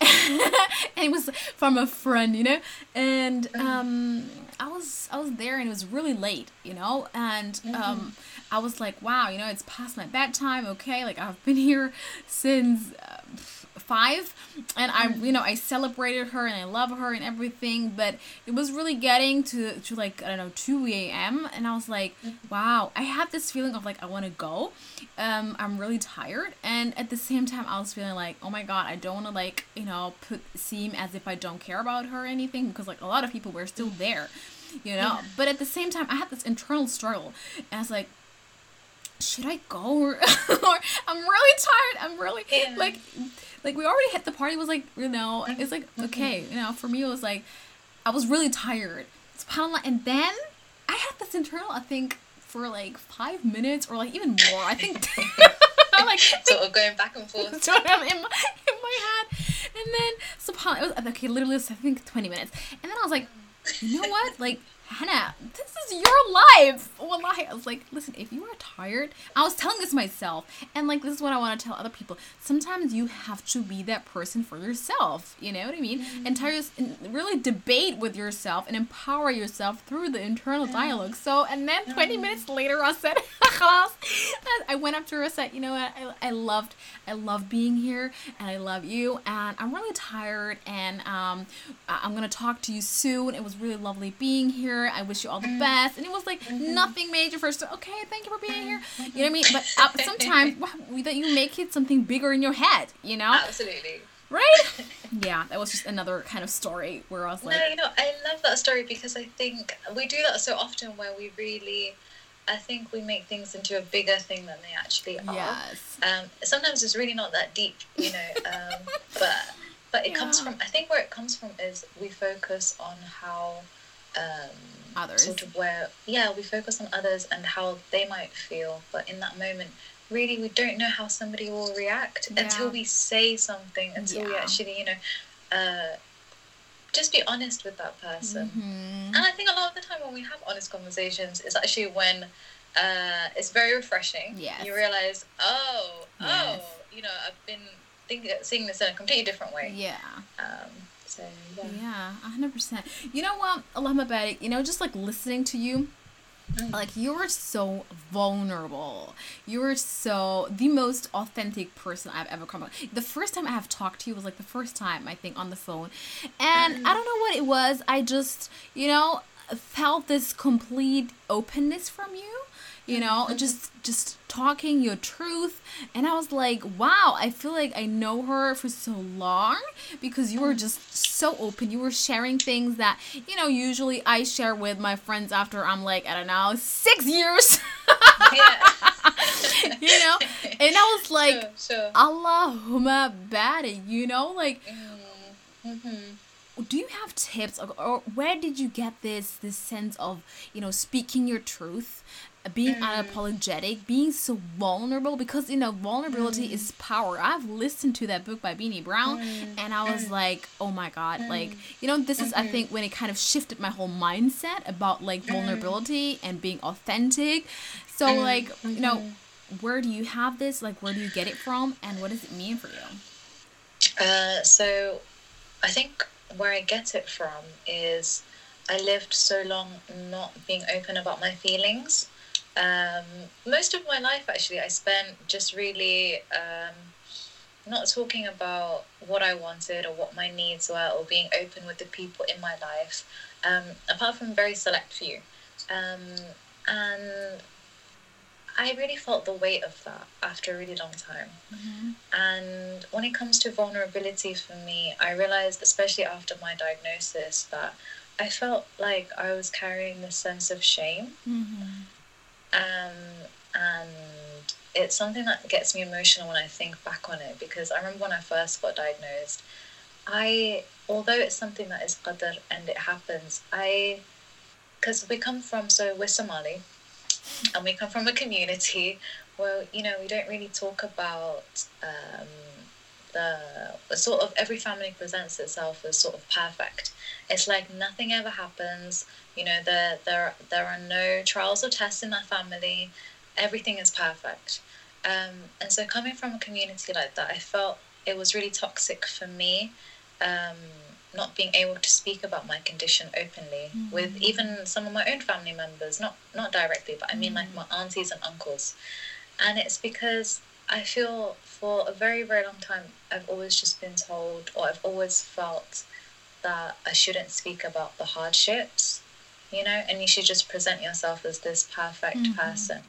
and it was from a friend, you know. And um, I was I was there, and it was really late, you know. And mm-hmm. um, I was like, wow, you know, it's past my bedtime. Okay, like I've been here since. Uh, five and I you know I celebrated her and I love her and everything, but it was really getting to to like I don't know two a.m. and I was like, wow, I had this feeling of like I want to go, um I'm really tired, and at the same time I was feeling like, oh my god, I don't want to like you know put seem as if I don't care about her or anything, because like a lot of people were still there, you know. Yeah. But at the same time I had this internal struggle and I was like, should I go or, or I'm really tired, I'm really yeah. like like we already hit the party, was like, you know, it's like okay, you know, for me it was like I was really tired, subhanAllah. And then I had this internal, I think, for like five minutes or like even more. I think I'm like sort of going back and forth. sort of in my, in my head. And then subhanAllah, it was okay, literally I think twenty minutes. And then I was like, you know what? Like, Hannah, this is your life. Wallahi, I was like, listen, if you are tired, I was telling this myself, and like this is what I want to tell other people. Sometimes you have to be that person for yourself. You know what I mean? Mm-hmm. And tell your, and really debate with yourself and empower yourself through the internal dialogue. So, and then twenty mm-hmm. minutes later, I said, I went up to her and said, you know what? I, I loved, I love being here, and I love you, and I'm really tired, and um, I'm gonna talk to you soon. It was really lovely being here. I wish you all the best. And it was like mm-hmm. nothing major first. Okay, thank you for being here. You know what I mean? But uh, sometimes that you make it something bigger in your head, you know? Absolutely. Right? Yeah, that was just another kind of story where I was like... No, you know, I love that story because I think we do that so often where we really... I think we make things into a bigger thing than they actually are. Yes. Um, sometimes it's really not that deep, you know, um, but but it yeah. comes from... I think where it comes from is we focus on how... Um, others sort of where yeah we focus on others and how they might feel, but in that moment really we don't know how somebody will react yeah. until we say something, until yeah. we actually you know uh, just be honest with that person. Mm-hmm. And I think a lot of the time when we have honest conversations, it's actually when uh, it's very refreshing. Yes. You realize oh yes. oh you know I've been thinking seeing this in a completely different way. Yeah. um So, yeah. yeah, one hundred percent. You know what, Allahumma barik, you know, just like listening to you, mm. like you're so vulnerable. You're so, the most authentic person I've ever come across. The first time I have talked to you was like the first time, I think, on the phone. And mm. I don't know what it was. I just, you know, felt this complete openness from you. You know, mm-hmm. just just talking your truth. And I was like, wow, I feel like I know her for so long because you were just so open. You were sharing things that, you know, usually I share with my friends after I'm like, I don't know, six years. You know? And I was like, sure, sure. Allahumma barik, you know? Like, mm-hmm. do you have tips or, or where did you get this this sense of, you know, speaking your truth? Being mm. unapologetic, being so vulnerable, because, you know, vulnerability mm. is power. I've listened to that book by Beanie Brown, mm. and I was mm. like, oh my God, mm. like, you know, this is, mm-hmm. I think, when it kind of shifted my whole mindset about, like, vulnerability mm. and being authentic. So, mm. like, mm-hmm. you know, where do you have this? Like, where do you get it from? And what does it mean for you? Uh, so, I think where I get it from is I lived so long not being open about my feelings. Um, most of my life, actually, I spent just really um, not talking about what I wanted or what my needs were or being open with the people in my life, um, apart from very select few. Um, and I really felt the weight of that after a really long time. Mm-hmm. And when it comes to vulnerability for me, I realized, especially after my diagnosis, that I felt like I was carrying this sense of shame. Mm-hmm. Um, and it's something that gets me emotional when I think back on it, because I remember when I first got diagnosed, I, although it's something that is qadr and it happens, I, because we come from, so we're Somali, and we come from a community where, you know, we don't really talk about um, the, the sort of, every family presents itself as sort of perfect. It's like nothing ever happens. You know, there there there are no trials or tests in that family. Everything is perfect. Um, and so coming from a community like that, I felt it was really toxic for me, um, not being able to speak about my condition openly mm-hmm. with even some of my own family members, not not directly, but I mean mm-hmm. like my aunties and uncles. And it's because I feel for a very, very long time, I've always just been told, or I've always felt that I shouldn't speak about the hardships, you know, and you should just present yourself as this perfect mm-hmm. person.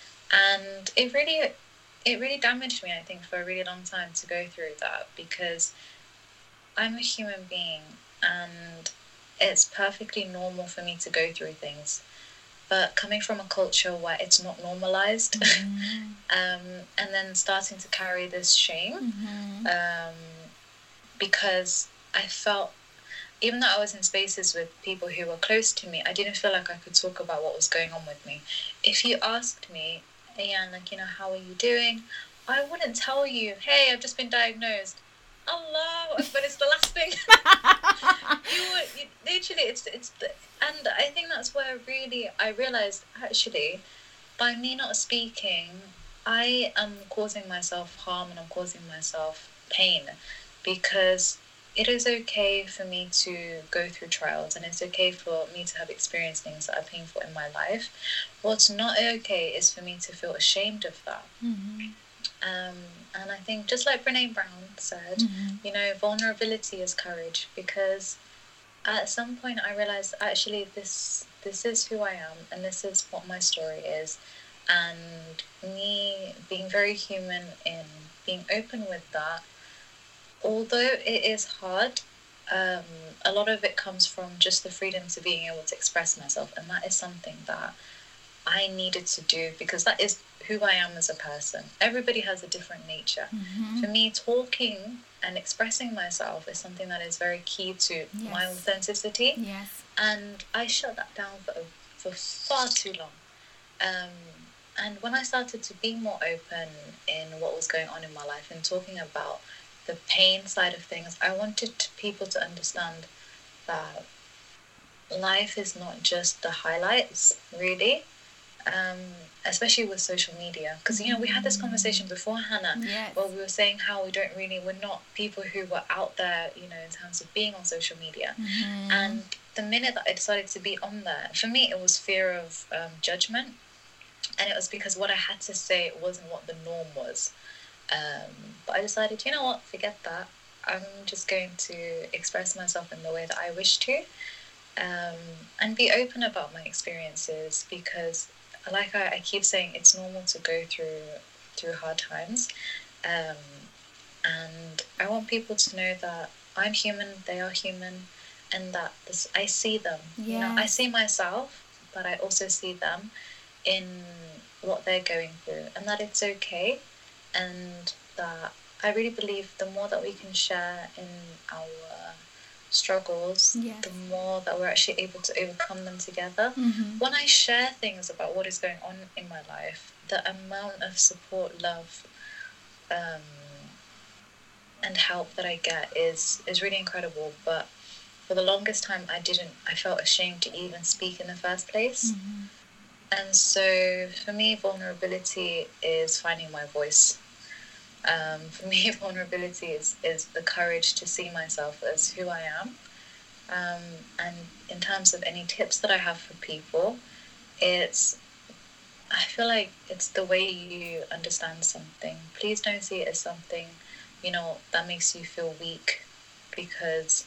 And it really, it really damaged me, I think, for a really long time to go through that, because I'm a human being and it's perfectly normal for me to go through things. But coming from a culture where it's not normalized, mm-hmm. um, and then starting to carry this shame, mm-hmm. um, because I felt, even though I was in spaces with people who were close to me, I didn't feel like I could talk about what was going on with me. If you asked me, Ayan, like, you know, how are you doing? I wouldn't tell you, hey, I've just been diagnosed. Allah, but it's the last thing. you would, you, literally, it's, it's the, and I think that's where really I realized, actually, by me not speaking, I am causing myself harm and I'm causing myself pain, because it is okay for me to go through trials, and it's okay for me to have experienced things that are painful in my life. What's not okay is for me to feel ashamed of that. Mm-hmm. Um, and I think, just like Brene Brown said, mm-hmm. you know, vulnerability is courage, because at some point I realized, actually, this this is who I am, and this is what my story is, and me being very human in being open with that, although it is hard, um, a lot of it comes from just the freedom to being able to express myself, and that is something that I needed to do, because that is who I am as a person. Everybody has a different nature. Mm-hmm. For me, talking and expressing myself is something that is very key to yes. my authenticity. Yes. And I shut that down for, for far too long. Um, and when I started to be more open in what was going on in my life and talking about the pain side of things, I wanted people to understand that life is not just the highlights, really. Um, especially with social media, because you know we had this conversation before, Hannah, yes. where we were saying how we don't really, we're not people who were out there, you know, in terms of being on social media. Mm-hmm. And the minute that I decided to be on there, for me it was fear of um, judgment, and it was because what I had to say wasn't what the norm was. Um, but I decided, you know what, forget that. I'm just going to express myself in the way that I wish to, um, and be open about my experiences, because like I, I keep saying, it's normal to go through through hard times, um, and I want people to know that I'm human, they are human, and that this, I see them. Yes. You know, I see myself, but I also see them in what they're going through, and that it's okay, and that I really believe the more that we can share in our struggles, yes. the more that we're actually able to overcome them together. Mm-hmm. When I share things about what is going on in my life, the amount of support, love, um, and help that I get is is really incredible. But for the longest time, I didn't. I felt ashamed to even speak in the first place. Mm-hmm. And so, for me, vulnerability is finding my voice. Um, for me, vulnerability is, is the courage to see myself as who I am. Um, and in terms of any tips that I have for people, it's, I feel like it's the way you understand something. Please don't see it as something, you know, that makes you feel weak, because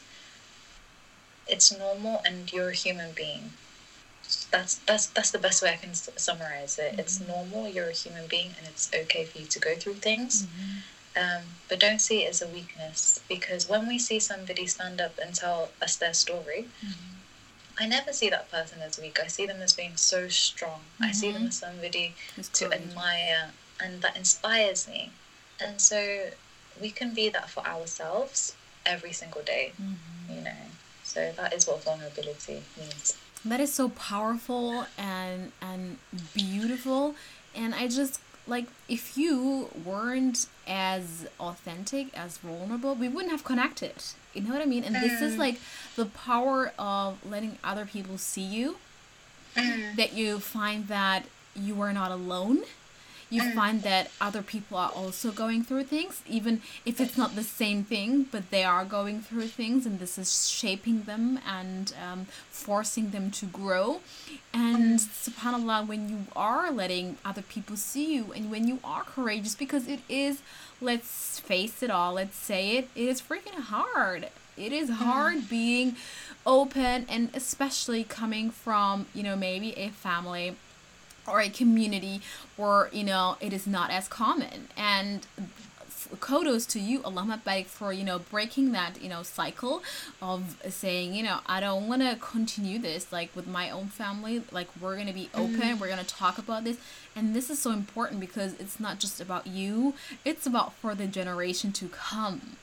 it's normal and you're a human being. That's that's that's the best way I can s- summarize it. Mm-hmm. It's normal, you're a human being, and it's okay for you to go through things. Mm-hmm. Um, but don't see it as a weakness, because when we see somebody stand up and tell us their story, mm-hmm. I never see that person as weak. I see them as being so strong. Mm-hmm. I see them as somebody it's to courageous. Admire, and that inspires me. And so we can be that for ourselves every single day, mm-hmm. you know. So that is what vulnerability means. That is so powerful and and beautiful. And I just, like, if you weren't as authentic, as vulnerable, we wouldn't have connected. You know what I mean? And mm. this is like the power of letting other people see you. Mm. That you find that you are not alone. You mm. find that other people are also going through things, even if it's not the same thing, but they are going through things, and this is shaping them and um, forcing them to grow. And mm. subhanAllah, when you are letting other people see you, and when you are courageous, because it is, let's face it all, let's say it, it is freaking hard. It is hard mm. being open, and especially coming from, you know, maybe a family or a community where, you know, it is not as common. And kudos to you, Allahumma barik, for, you know, breaking that, you know, cycle of saying, you know, I don't want to continue this, like, with my own family. Like, we're going to be open, mm. we're going to talk about this. And this is so important, because it's not just about you, it's about for the generation to come.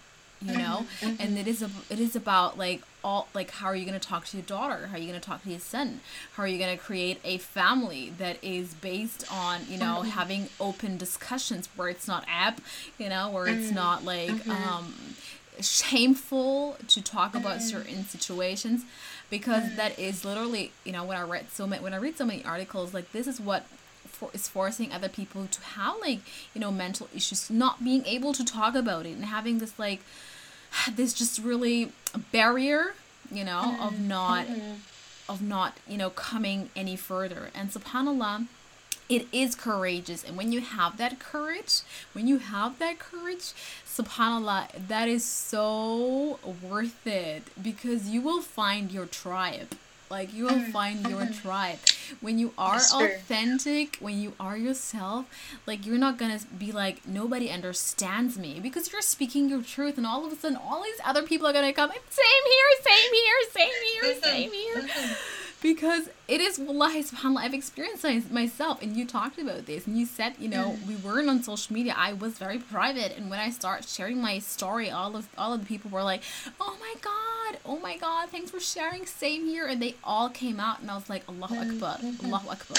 you know. Mm-hmm. And it is a, it is about like all like how are you going to talk to your daughter, how are you going to talk to your son, how are you going to create a family that is based on, you know, Mm-hmm. having open discussions where it's not app, you know, where it's Mm-hmm. not like Mm-hmm. um shameful to talk about certain situations, because that is literally, you know, when I read so many when I read so many articles, like this is what for, is forcing other people to have like, you know, mental issues, not being able to talk about it and having this like this just really barrier, you know, of not Mm-hmm. of not, you know, coming any further. And subhanallah, it is courageous. And when you have that courage, when you have that courage, subhanallah, that is so worth it, because you will find your tribe. Like you will find your tribe when you are It's true. authentic, when you are yourself. Like you're not gonna be like, nobody understands me, because you're speaking your truth, and all of a sudden all these other people are gonna come, same here, same here, same here, same here. Because it is, wallahi, subhanAllah, I've experienced this myself, and you talked about this, and you said, you know, we weren't on social media, I was very private, and when I start sharing my story, all of all of the people were like, oh my god, oh my god, thanks for sharing, same here, and they all came out, and I was like, Allahu Akbar, Allahu Akbar.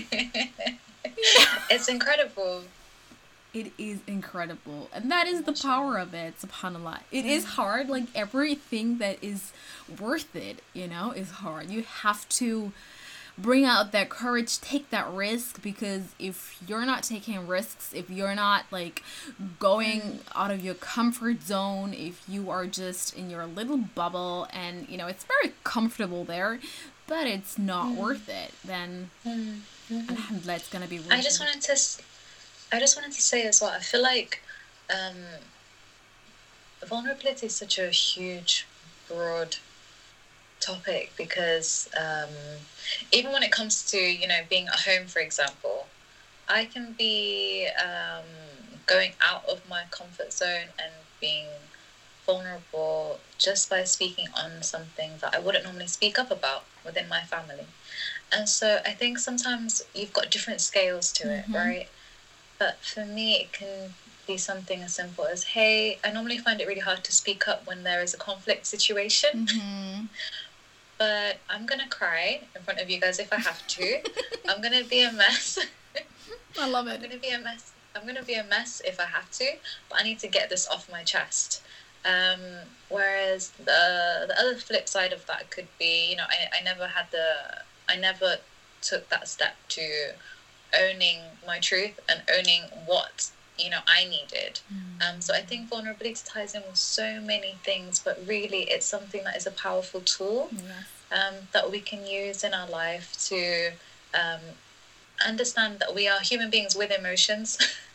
It's incredible. It is incredible, and that is the power of it, subhanallah. It is hard, like everything that is worth it, you know, is hard. You have to bring out that courage, take that risk, because if you're not taking risks, if you're not like going out of your comfort zone, if you are just in your little bubble and, you know, it's very comfortable there, but it's not worth it, then alhamdulillah, it's gonna be worth I just it. wanted to, s- I just wanted to say as well. I feel like um, vulnerability is such a huge, broad topic, because um, even when it comes to, you know, being at home, for example, I can be um, going out of my comfort zone and being vulnerable just by speaking on something that I wouldn't normally speak up about within my family. And so I think sometimes you've got different scales to it, Mhm. right? But for me, it can be something as simple as, hey, I normally find it really hard to speak up when there is a conflict situation, Mm-hmm. but I'm going to cry in front of you guys if I have to. I'm going to be a mess. I love I'm it. going to be a mess. I'm going to be a mess if I have to, but I need to get this off my chest. Um, whereas the the other flip side of that could be, you know, I, I never had the, I never took that step to owning my truth and owning what, you know, I needed. Um, so I think vulnerability ties in with so many things, but really it's something that is a powerful tool Yes. um, that we can use in our life to um, understand that we are human beings with emotions.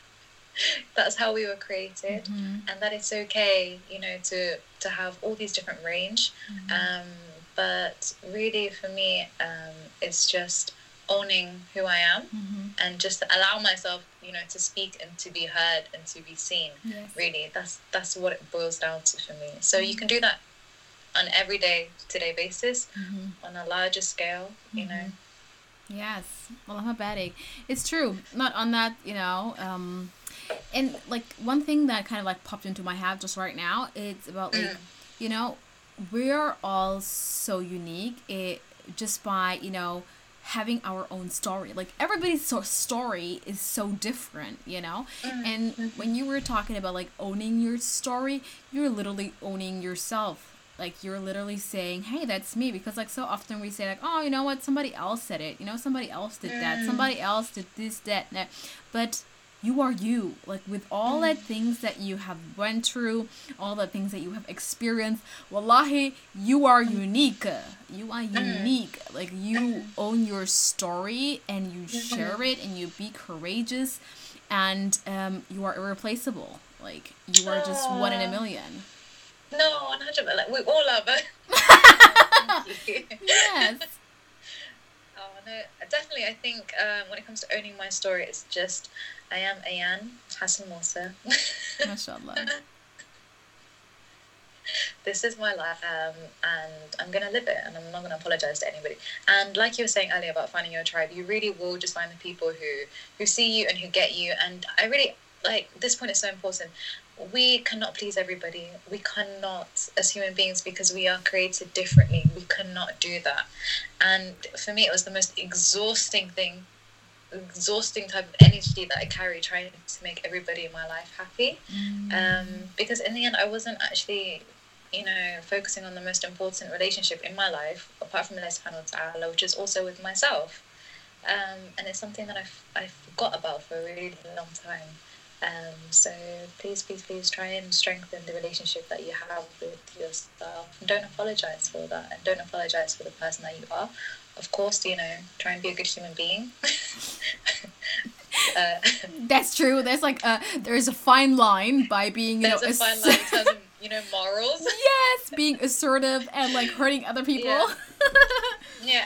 That's how we were created, Mhm. and that it's okay, you know, to to have all these different range. Um, but really, for me, um, it's just owning who I am Mhm. and just allow myself, you know, to speak and to be heard and to be seen. Yes. Really, that's that's what it boils down to for me. So you can do that on an everyday, today basis, Mhm. on a larger scale, you know. Yes. Well, I'm a baddie. It's true. Not on that, you know. Um, and like one thing that kind of like popped into my head just right now, it's about like, you know, we are all so unique. It just by, you know, having our own story. Like everybody's so story is so different, you know. And when you were talking about like owning your story, you're literally owning yourself. Like you're literally saying, hey, that's me. Because like so often we say like, oh, you know what, somebody else said it, you know, somebody else did that, somebody else did this, that, and that. But you are you, like with all the things that you have went through, all the things that you have experienced, wallahi, you are unique. You are unique. Like you own your story and you share it and you be courageous, and um, you are irreplaceable. Like you are just one in a million. No, one hundred percent. Like, we all love it. Thank you. Yes. Oh, no, definitely. I think um, when it comes to owning my story, it's just, I am Ayan Hassan Musa. MashaAllah. This is my life, um, and I'm going to live it, and I'm not going to apologize to anybody. And like you were saying earlier about finding your tribe, you really will just find the people who, who see you and who get you. And I really, like, this point is so important. We cannot please everybody. We cannot, as human beings, because we are created differently, we cannot do that. And for me, it was the most exhausting thing, exhausting type of energy that I carry, trying to make everybody in my life happy. Mm. Um, because in the end, I wasn't actually, you know, focusing on the most important relationship in my life, apart from Allah subhanahu wa ta'ala, which is also with myself. Um, and it's something that I've, I forgot about for a really long time. Um, so please, please, please try and strengthen the relationship that you have with yourself. And don't apologize for that. And don't apologize for the person that you are. Of course, you know, try and be a good human being. uh, That's true. There's like a, there's a fine line by being, you there's know, a fine line in terms of, you know, morals. Yes, being assertive and like hurting other people. Yeah. Yeah.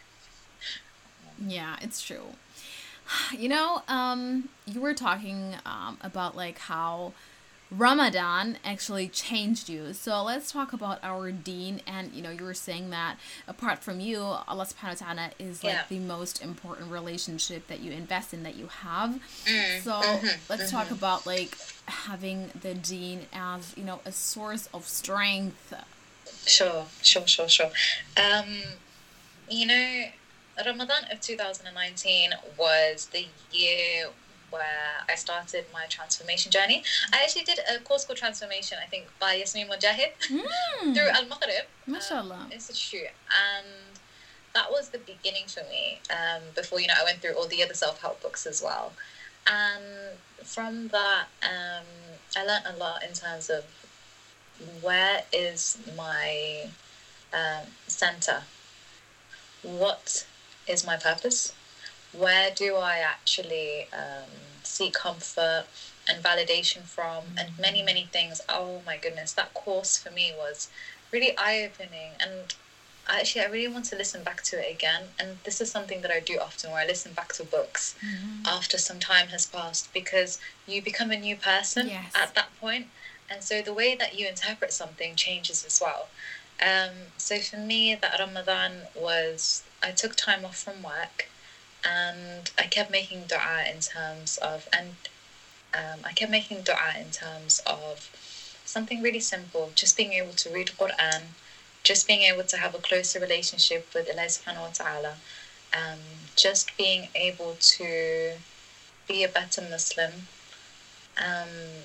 Yeah, it's true. You know, um, you were talking um, about like how Ramadan actually changed you. So let's talk about our deen. And, you know, you were saying that apart from you, Allah subhanahu wa ta'ala is like yeah. the most important relationship that you invest in, that you have. Mm, so mm-hmm, let's mm-hmm. talk about like having the deen as, you know, a source of strength. Sure, sure, sure, sure. Um, you know, Ramadan of two thousand nineteen was the year where I started my transformation journey. I actually did a course called Transformation, I think, by Yasmin Mujahid mm. through Al-Maghrib Mashallah. Um, Institute. And that was the beginning for me, um, before, you know, I went through all the other self-help books as well. And from that, um, I learned a lot in terms of where is my um, center? What is my purpose? Where do I actually um, seek comfort and validation from? Mm-hmm. And many, many things. Oh my goodness, that course for me was really eye-opening. And actually, I really want to listen back to it again. And this is something that I do often, where I listen back to books mm-hmm. after some time has passed, because you become a new person yes. at that point. And so the way that you interpret something changes as well. Um, so for me, that Ramadan was, I took time off from work, and I kept making dua in terms of, and um, I kept making dua in terms of something really simple, just being able to read Quran, just being able to have a closer relationship with Allah subhanahu wa ta'ala, um, just being able to be a better Muslim. Um,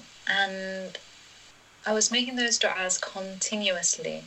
and I was making those du'as continuously.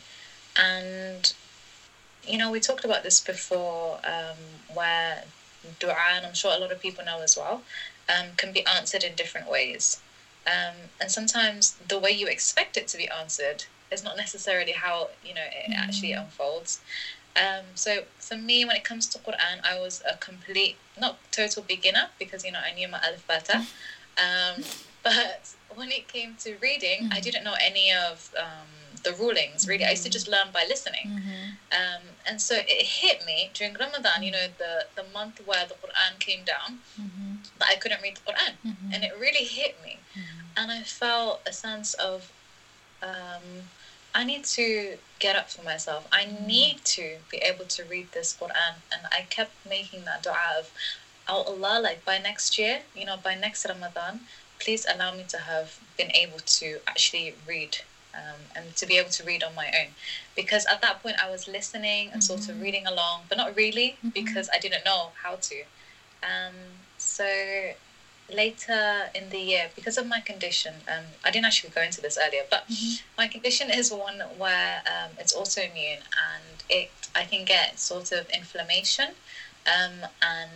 And, you know, we talked about this before, um, where dua, and I'm sure a lot of people know as well, um, can be answered in different ways. Um, and sometimes the way you expect it to be answered is not necessarily how, you know, it mm-hmm. actually unfolds. Um, so for me, when it comes to Quran, I was a complete, not total beginner, because, you know, I knew my alif bata. Um, but when it came to reading, mm-hmm. I didn't know any of um, the rulings, really. Mm-hmm. I used to just learn by listening. Mm-hmm. Um, and so it hit me during Ramadan, you know, the, the month where the Quran came down, mm-hmm. that I couldn't read the Quran. Mm-hmm. And it really hit me. Mm-hmm. And I felt a sense of, um, I need to get up for myself. I mm-hmm. need to be able to read this Quran. And I kept making that dua of, oh Allah, like by next year, you know, by next Ramadan, please allow me to have been able to actually read, um, and to be able to read on my own. Because at that point I was listening and mm-hmm. sort of reading along, but not really, mm-hmm. because I didn't know how to. Um, so later in the year, because of my condition, um, I didn't actually go into this earlier, but mm-hmm. my condition is one where um, it's autoimmune, and it I can get sort of inflammation, um, and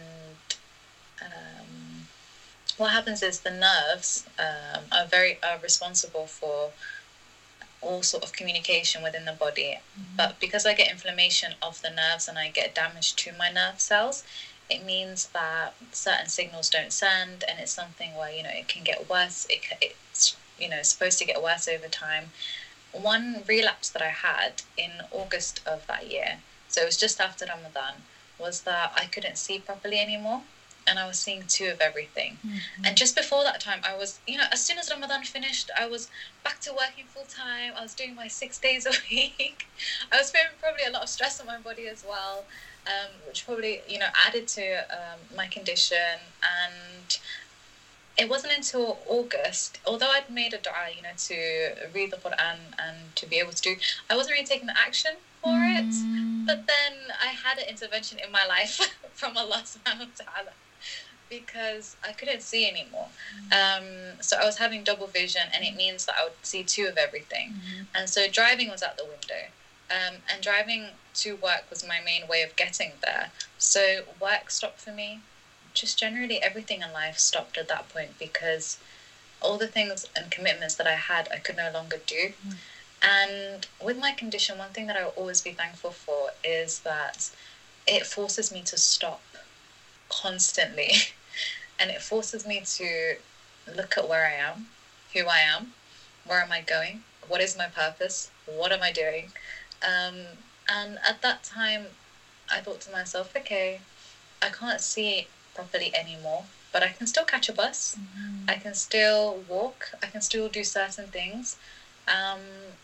um, what happens is the nerves um, are very are responsible for all sort of communication within the body. Mm-hmm. But because I get inflammation of the nerves and I get damage to my nerve cells, it means that certain signals don't send, and it's something where, you know, it can get worse. It, it's, you know, supposed to get worse over time. One relapse that I had in August of that year, so it was just after Ramadan, was that I couldn't see properly anymore. And I was seeing two of everything. Mm-hmm. And just before that time, I was, you know, as soon as Ramadan finished, I was back to working full time. I was doing my six days a week. I was feeling probably a lot of stress on my body as well, um, which probably, you know, added to um, my condition. And it wasn't until August, although I'd made a dua, you know, to read the Quran and to be able to do, I wasn't really taking the action for mm. it. But then I had an intervention in my life from Allah subhanahu wa ta'ala, because I couldn't see anymore. Um, so I was having double vision, and it means that I would see two of everything. Mm-hmm. And so driving was out the window. Um, and driving to work was my main way of getting there. So work stopped for me. Just generally everything in life stopped at that point, because all the things and commitments that I had, I could no longer do. Mm. And with my condition, one thing that I will always be thankful for is that it forces me to stop constantly. And it forces me to look at where I am, who I am, where am I going, what is my purpose, what am I doing? Um, and at that time, I thought to myself, okay, I can't see properly anymore, but I can still catch a bus. Mm-hmm. I can still walk. I can still do certain things. Um,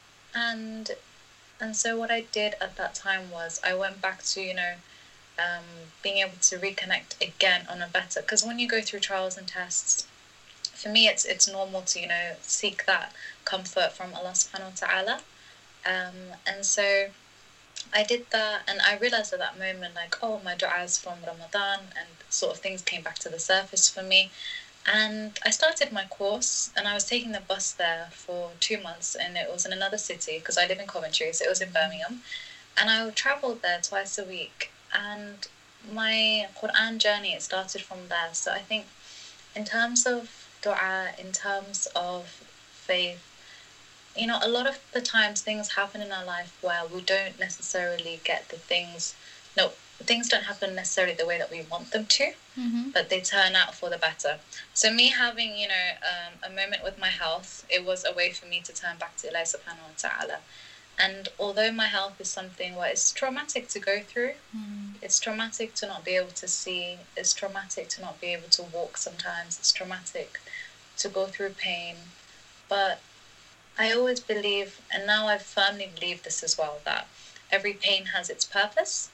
and and so what I did at that time was I went back to, you know, um, being able to reconnect again on a better, because when you go through trials and tests, for me, it's it's normal to, you know, seek that comfort from Allah subhanahu wa ta'ala. Um, and so I did that, and I realized at that moment, like, oh, my du'as from Ramadan, and sort of things came back to the surface for me. And I started my course, and I was taking the bus there for two months, and it was in another city, because I live in Coventry, so it was in Birmingham. And I traveled there twice a week, and my Quran journey, it started from there. So I think in terms of dua, in terms of faith, you know, a lot of the times things happen in our life where we don't necessarily get the things, no, things don't happen necessarily the way that we want them to, mm-hmm. but they turn out for the better. So me having, you know, um, a moment with my health, it was a way for me to turn back to Allah subhanahu wa ta'ala. And although my health is something where it's traumatic to go through, mm. it's traumatic to not be able to see, it's traumatic to not be able to walk sometimes, it's traumatic to go through pain, but I always believe, and now I firmly believe this as well, that every pain has its purpose.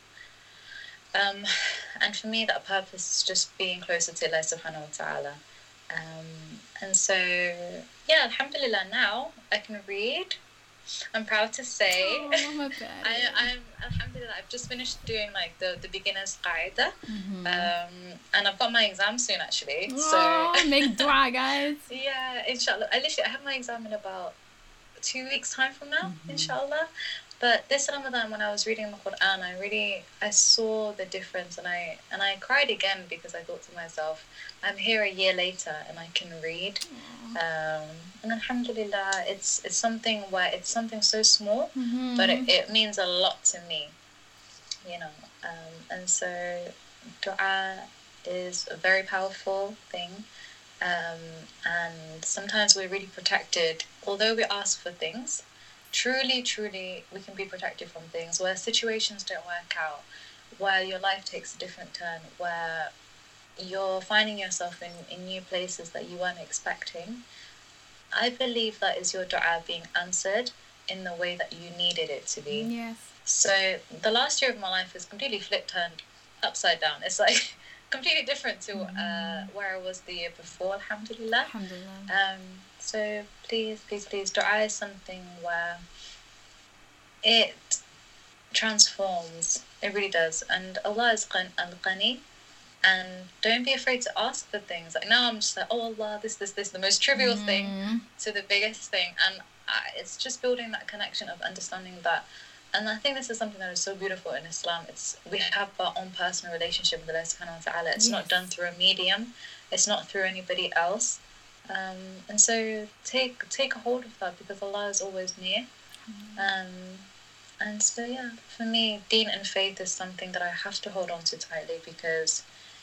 Um, and for me, that purpose is just being closer to Allah subhanahu wa ta'ala. Um, and so, yeah, alhamdulillah, now I can read. I'm proud to say. Oh, my bad. I, I'm, alhamdulillah, I've just finished doing like the, the beginner's qaida. Mm-hmm. Um, and I've got my exam soon, actually. Oh, so make dua, guys. Yeah, inshallah. I literally, I have my exam in about two weeks time from now, mm-hmm. inshallah. But this Ramadan, when I was reading the Quran, I really, I saw the difference, and I and I cried again, because I thought to myself, I'm here a year later and I can read. Um, and alhamdulillah, it's it's something where it's something so small, mm-hmm. but it, it means a lot to me, you know. Um, and so dua is a very powerful thing. Um, and sometimes we're really protected, although we ask for things. Truly, truly, we can be protected from things where situations don't work out, where your life takes a different turn, where you're finding yourself in, in new places that you weren't expecting. I believe that is your dua being answered in the way that you needed it to be. Yes. So the last year of my life is completely flipped, turned upside down. It's like completely different to uh, where I was the year before, alhamdulillah. Alhamdulillah. Um, so please, please, please, dua is something where it transforms. It really does. And Allah is al-Qani. And don't be afraid to ask for things. Like now I'm just like, oh Allah, this, this, this, the most trivial mm. thing to the biggest thing. And I, it's just building that connection of understanding that. And I think this is something that is so beautiful in Islam. It's we have our own personal relationship with Allah subhanahu wa ta'ala. It's yes. not done through a medium. It's not through anybody else. Um, and so take take a hold of that, because Allah is always near. Mm. Um, and so yeah, for me, deen and faith is something that I have to hold on to tightly, because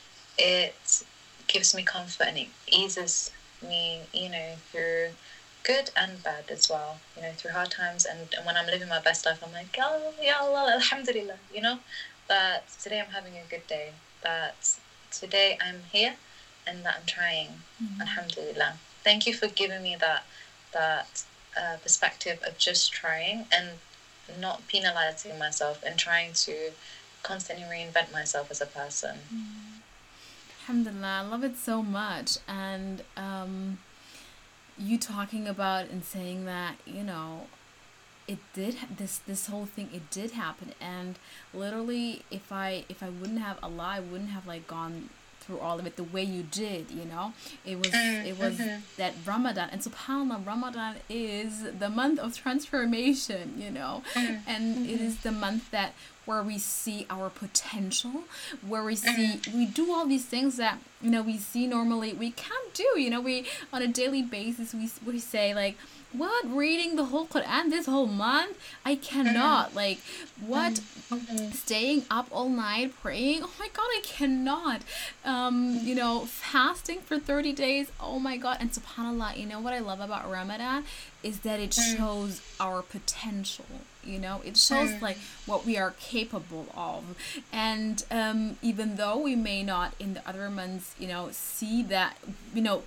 it gives me comfort and it eases me, you know, through good and bad as well, you know, through hard times. And, and when I'm living my best life, I'm like, oh, ya Allah, alhamdulillah, you know, that today I'm having a good day, that today I'm here and that I'm trying, mm-hmm. alhamdulillah. Thank you for giving me that that uh, perspective of just trying and not penalizing myself and trying to constantly reinvent myself as a person. Mm. Alhamdulillah, I love it so much. And um, you talking about and saying that, you know, it did this this whole thing, it did happen. And literally, if I if I wouldn't have Allah, I wouldn't have like gone through all of it the way you did, you know. It was it was Mm-hmm. that Ramadan, and subhanallah, Ramadan is the month of transformation, you know. And it is the month that where we see our potential, where we see we do all these things that, you know, we see normally we can't do, you know. We on a daily basis we we say like, what, reading the whole Quran this whole month? I cannot. Like, what, staying up all night praying? Oh my God, I cannot. Um, you know, fasting for thirty days. Oh my God. And subhanallah, you know what I love about Ramadan is that it shows our potential. You know, it shows like what we are capable of. And um, even though we may not in the other months, you know, see that, you know,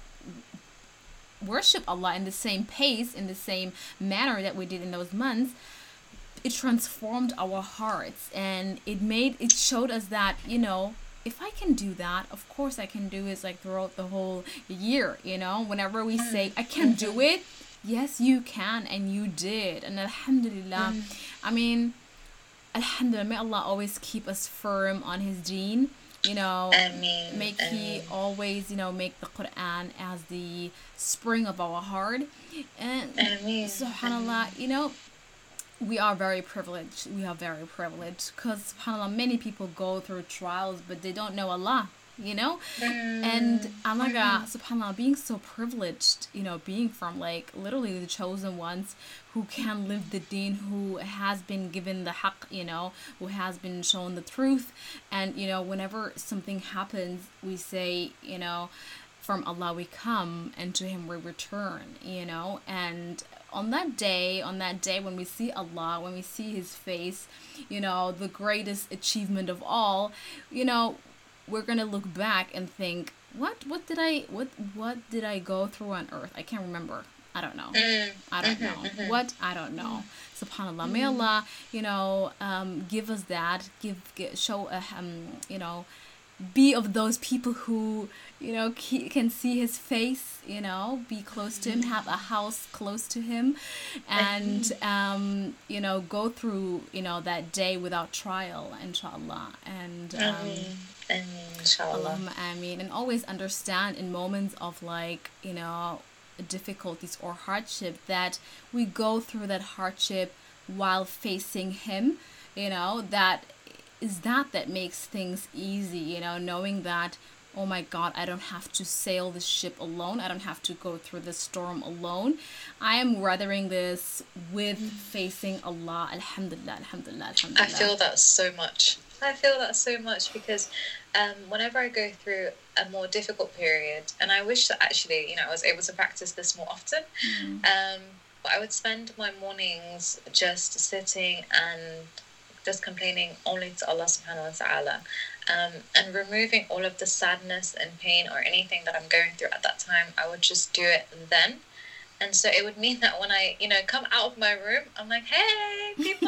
worship Allah in the same pace, in the same manner that we did in those months, it transformed our hearts, and it made it showed us that, you know, if I can do that, of course I can do it like throughout the whole year, you know. Whenever we say I can do it, yes you can, and you did. And alhamdulillah, I mean, alhamdulillah, may Allah always keep us firm on his deen, you know. Ameen. Make he Ameen. always, you know, make the Quran as the spring of our heart. And Ameen. subhanallah, you know, we are very privileged. We are very privileged because subhanallah, many people go through trials, but they don't know Allah, you know. And Allah, subhanallah, being so privileged, you know, being from like literally the chosen ones who can live the deen, who has been given the haqq, you know, who has been shown the truth. And, you know, whenever something happens, we say, you know, from Allah we come and to him we return, you know. And on that day, on that day when we see Allah, when we see his face, you know, the greatest achievement of all, you know, we're going to look back and think, what what did I what what did I go through on earth? I can't remember. I don't know. I don't know. What? I don't know. Subhanallah. May Allah, you know, um, give us that. Give, give show, uh, um, you know, be of those people who, you know, ke- can see his face, you know, be close to him, have a house close to him, and, um, you know, go through, you know, that day without trial, inshallah. And, um, Ameen. Inshallah. Allahumma ameen. And always understand in moments of like, you know, difficulties or hardship that we go through that hardship while facing him, you know, that is that that makes things easy, you know, knowing that, oh my God, I don't have to sail the ship alone. I don't have to go through the storm alone. I am weathering this with facing Allah. Alhamdulillah, alhamdulillah, alhamdulillah. I feel that so much. I feel that so much because um, whenever I go through a more difficult period, and I wish that actually, you know, I was able to practice this more often, Mm. um, but I would spend my mornings just sitting and just complaining only to Allah subhanahu wa ta'ala, um, and removing all of the sadness and pain or anything that I'm going through at that time. I would just do it then. And so it would mean that when I, you know, come out of my room, I'm like, hey, people.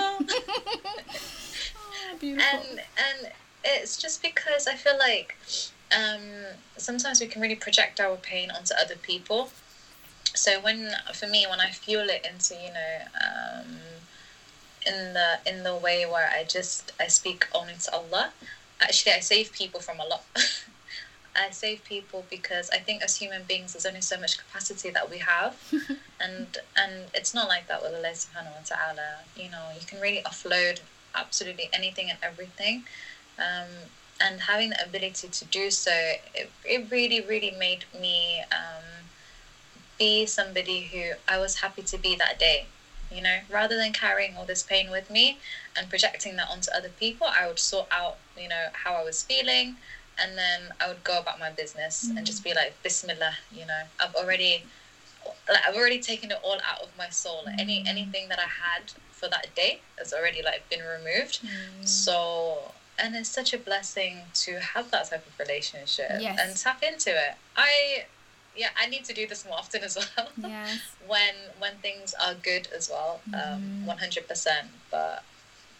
Oh, beautiful. and and it's just because I feel like um, sometimes we can really project our pain onto other people. So when, for me, when I fuel it into, you know, um, in the in the way where I just I speak only to Allah, actually I save people from a lot. I save people because I think as human beings there's only so much capacity that we have, and and it's not like that with Allah subhanahu wa ta'ala. You know, you can really offload absolutely anything and everything, um, and having the ability to do so, it, it really really made me um, be somebody who I was happy to be that day. You know, rather than carrying all this pain with me and projecting that onto other people, I would sort out, you know, how I was feeling, and then I would go about my business mm-hmm. and just be like, Bismillah, you know, I've already, like, I've already taken it all out of my soul. Mm-hmm. Any anything that I had for that day has already like been removed. Mm-hmm. So, and it's such a blessing to have that type of relationship yes. and tap into it. I. Yeah, I need to do this more often as well. Yes. when when things are good as well, um, one hundred percent. But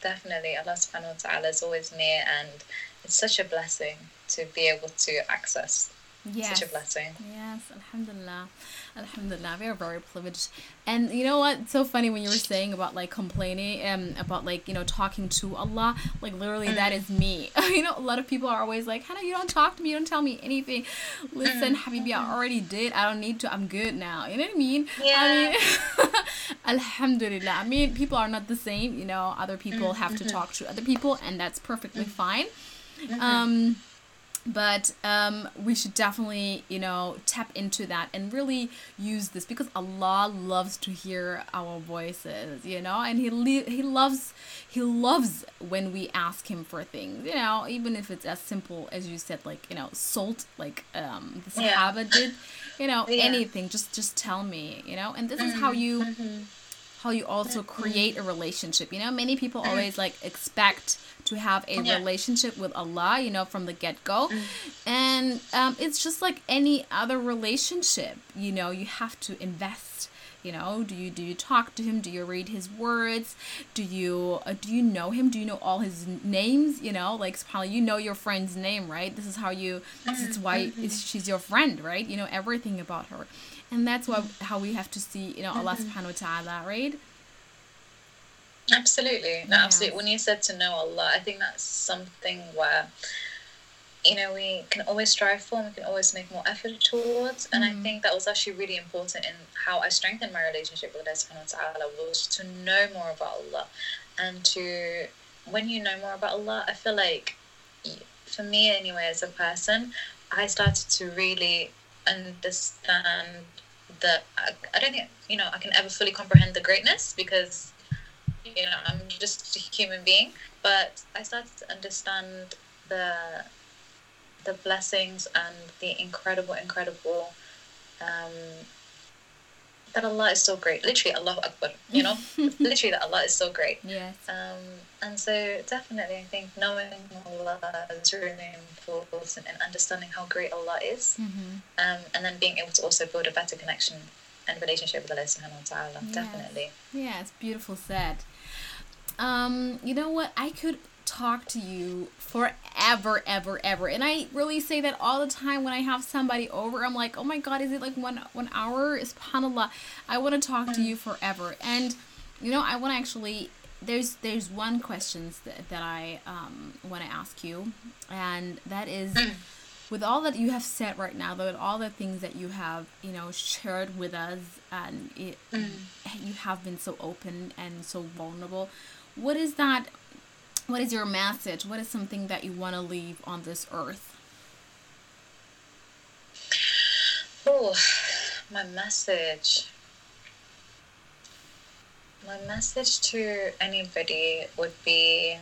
definitely. Allah subhanahu wa ta'ala is always near, and it's such a blessing to be able to access. Yes. Such a blessing. Yes, alhamdulillah. Alhamdulillah. We are very privileged. And you know what? It's so funny when you were saying about like complaining and um, about like, you know, talking to Allah. Like literally mm. that is me. You know, a lot of people are always like, Hannah, you don't talk to me. You don't tell me anything. Listen, mm. Habibi, I already did. I don't need to. I'm good now. You know what I mean? Yeah. I mean, alhamdulillah. I mean, people are not the same. You know, other people mm-hmm. have to talk to other people, and that's perfectly mm. fine. Mm-hmm. Um... But um, we should definitely, you know, tap into that and really use this, because Allah loves to hear our voices, you know, and he le- he loves he loves when we ask him for things, you know, even if it's as simple as you said, like, you know, salt, like um, the Sahaba yeah. did, you know, yeah. anything, just just tell me, you know, and this mm-hmm. is how you mm-hmm. how you also create a relationship, you know. Many people always like expect to have a yeah. relationship with Allah, you know, from the get-go. Mm. And um, it's just like any other relationship, you know, you have to invest, you know. Do you do you talk to him? Do you read his words? Do you uh, do you know him? Do you know all his names? You know, like subhanAllah, you know your friend's name, right? This is how you, this is why it's, she's your friend, right? You know everything about her. And that's why how we have to see, you know, Allah subhanahu wa ta'ala, right? Absolutely. No, absolutely. When you said to know Allah, I think that's something where, you know, we can always strive for and we can always make more effort towards. And mm-hmm. I think that was actually really important in how I strengthened my relationship with Allah subhanahu wa ta'ala, was to know more about Allah. And to, when you know more about Allah, I feel like, for me anyway, as a person, I started to really understand that I, I don't think, you know, I can ever fully comprehend the greatness, because, you know, I'm just a human being, but I started to understand the the blessings and the incredible, incredible, um, that Allah is so great. Literally, Allahu Akbar, you know? Literally, that Allah is so great. Yes. Um, and so, definitely, I think knowing Allah is really important, and understanding how great Allah is, mm-hmm. um, and then being able to also build a better connection and relationship with Allah subhanahu wa ta'ala. Yes. Definitely. Yeah, it's beautiful said. Um, you know what? I could talk to you forever, ever, ever. And I really say that all the time when I have somebody over. I'm like, oh my God, is it like one one hour? SubhanAllah. I want to talk mm. to you forever. And, you know, I want to actually, there's there's one question that, that I um, want to ask you. And that is, mm. with all that you have said right now, with all the things that you have, you know, shared with us, and it, mm. you have been so open and so vulnerable. What is that? What is your message? What is something that you want to leave on this earth? Oh, my message. My message to anybody would be,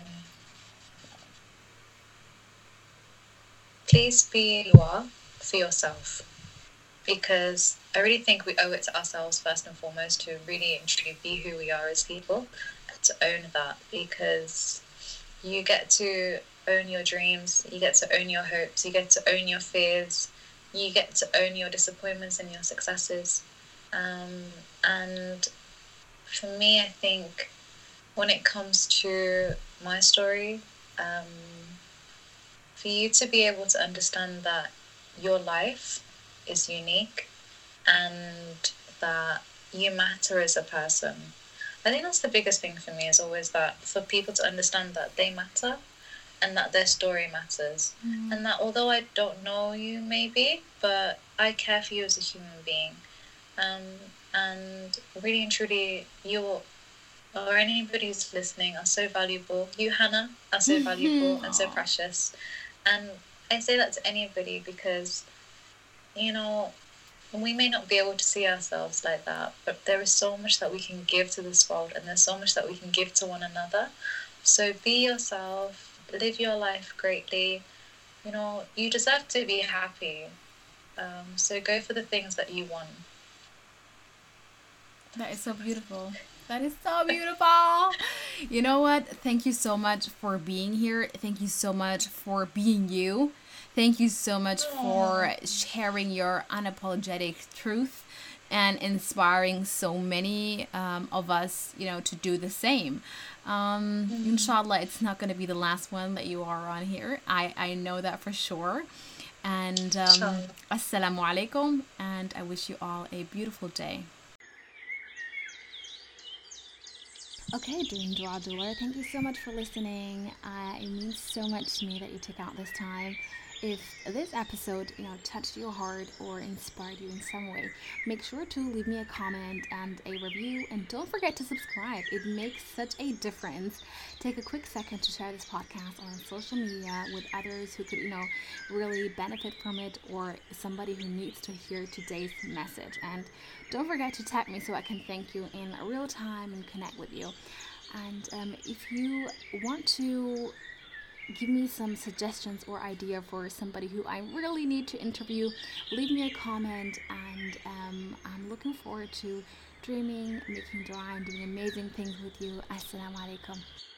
please be you are for yourself. Because I really think we owe it to ourselves first and foremost to really and truly be who we are as people, and to own that, because you get to own your dreams, you get to own your hopes, you get to own your fears, you get to own your disappointments and your successes. Um, and for me, I think when it comes to my story, um, for you to be able to understand that your life is unique and that you matter as a person. I think that's the biggest thing for me, is always that for people to understand that they matter and that their story matters. Mm. And that although I don't know you maybe, but I care for you as a human being. Um, and really and truly, you or anybody who's listening are so valuable. You, Hannah, are so valuable and so precious. And I say that to anybody because, you know, we may not be able to see ourselves like that, but there is so much that we can give to this world, and there's so much that we can give to one another. So be yourself, live your life greatly. You know, you deserve to be happy. Um, so go for the things that you want. That is so beautiful. That is so beautiful. You know what? Thank you so much for being here. Thank you so much for being you. Thank you so much for sharing your unapologetic truth. and inspiring so many um, of us, you know, to do the same. Um, mm-hmm. Inshallah, it's not going to be the last one that you are on here. I, I know that for sure. And um, sure. Assalamu alaikum, and I wish you all a beautiful day. Okay, Dream Dua Doer, thank you so much for listening. Uh, it means so much to me that you took out this time. If this episode, you know, touched your heart or inspired you in some way, make sure to leave me a comment and a review, and don't forget to subscribe. It makes such a difference. Take a quick second to share this podcast on social media with others who could, you know, really benefit from it, or somebody who needs to hear today's message. And don't forget to tag me so I can thank you in real time and connect with you. And um, if you want to give me some suggestions or idea for somebody who I really need to interview, leave me a comment, and um, I'm looking forward to dreaming, making dua, and doing amazing things with you. Assalamu alaikum.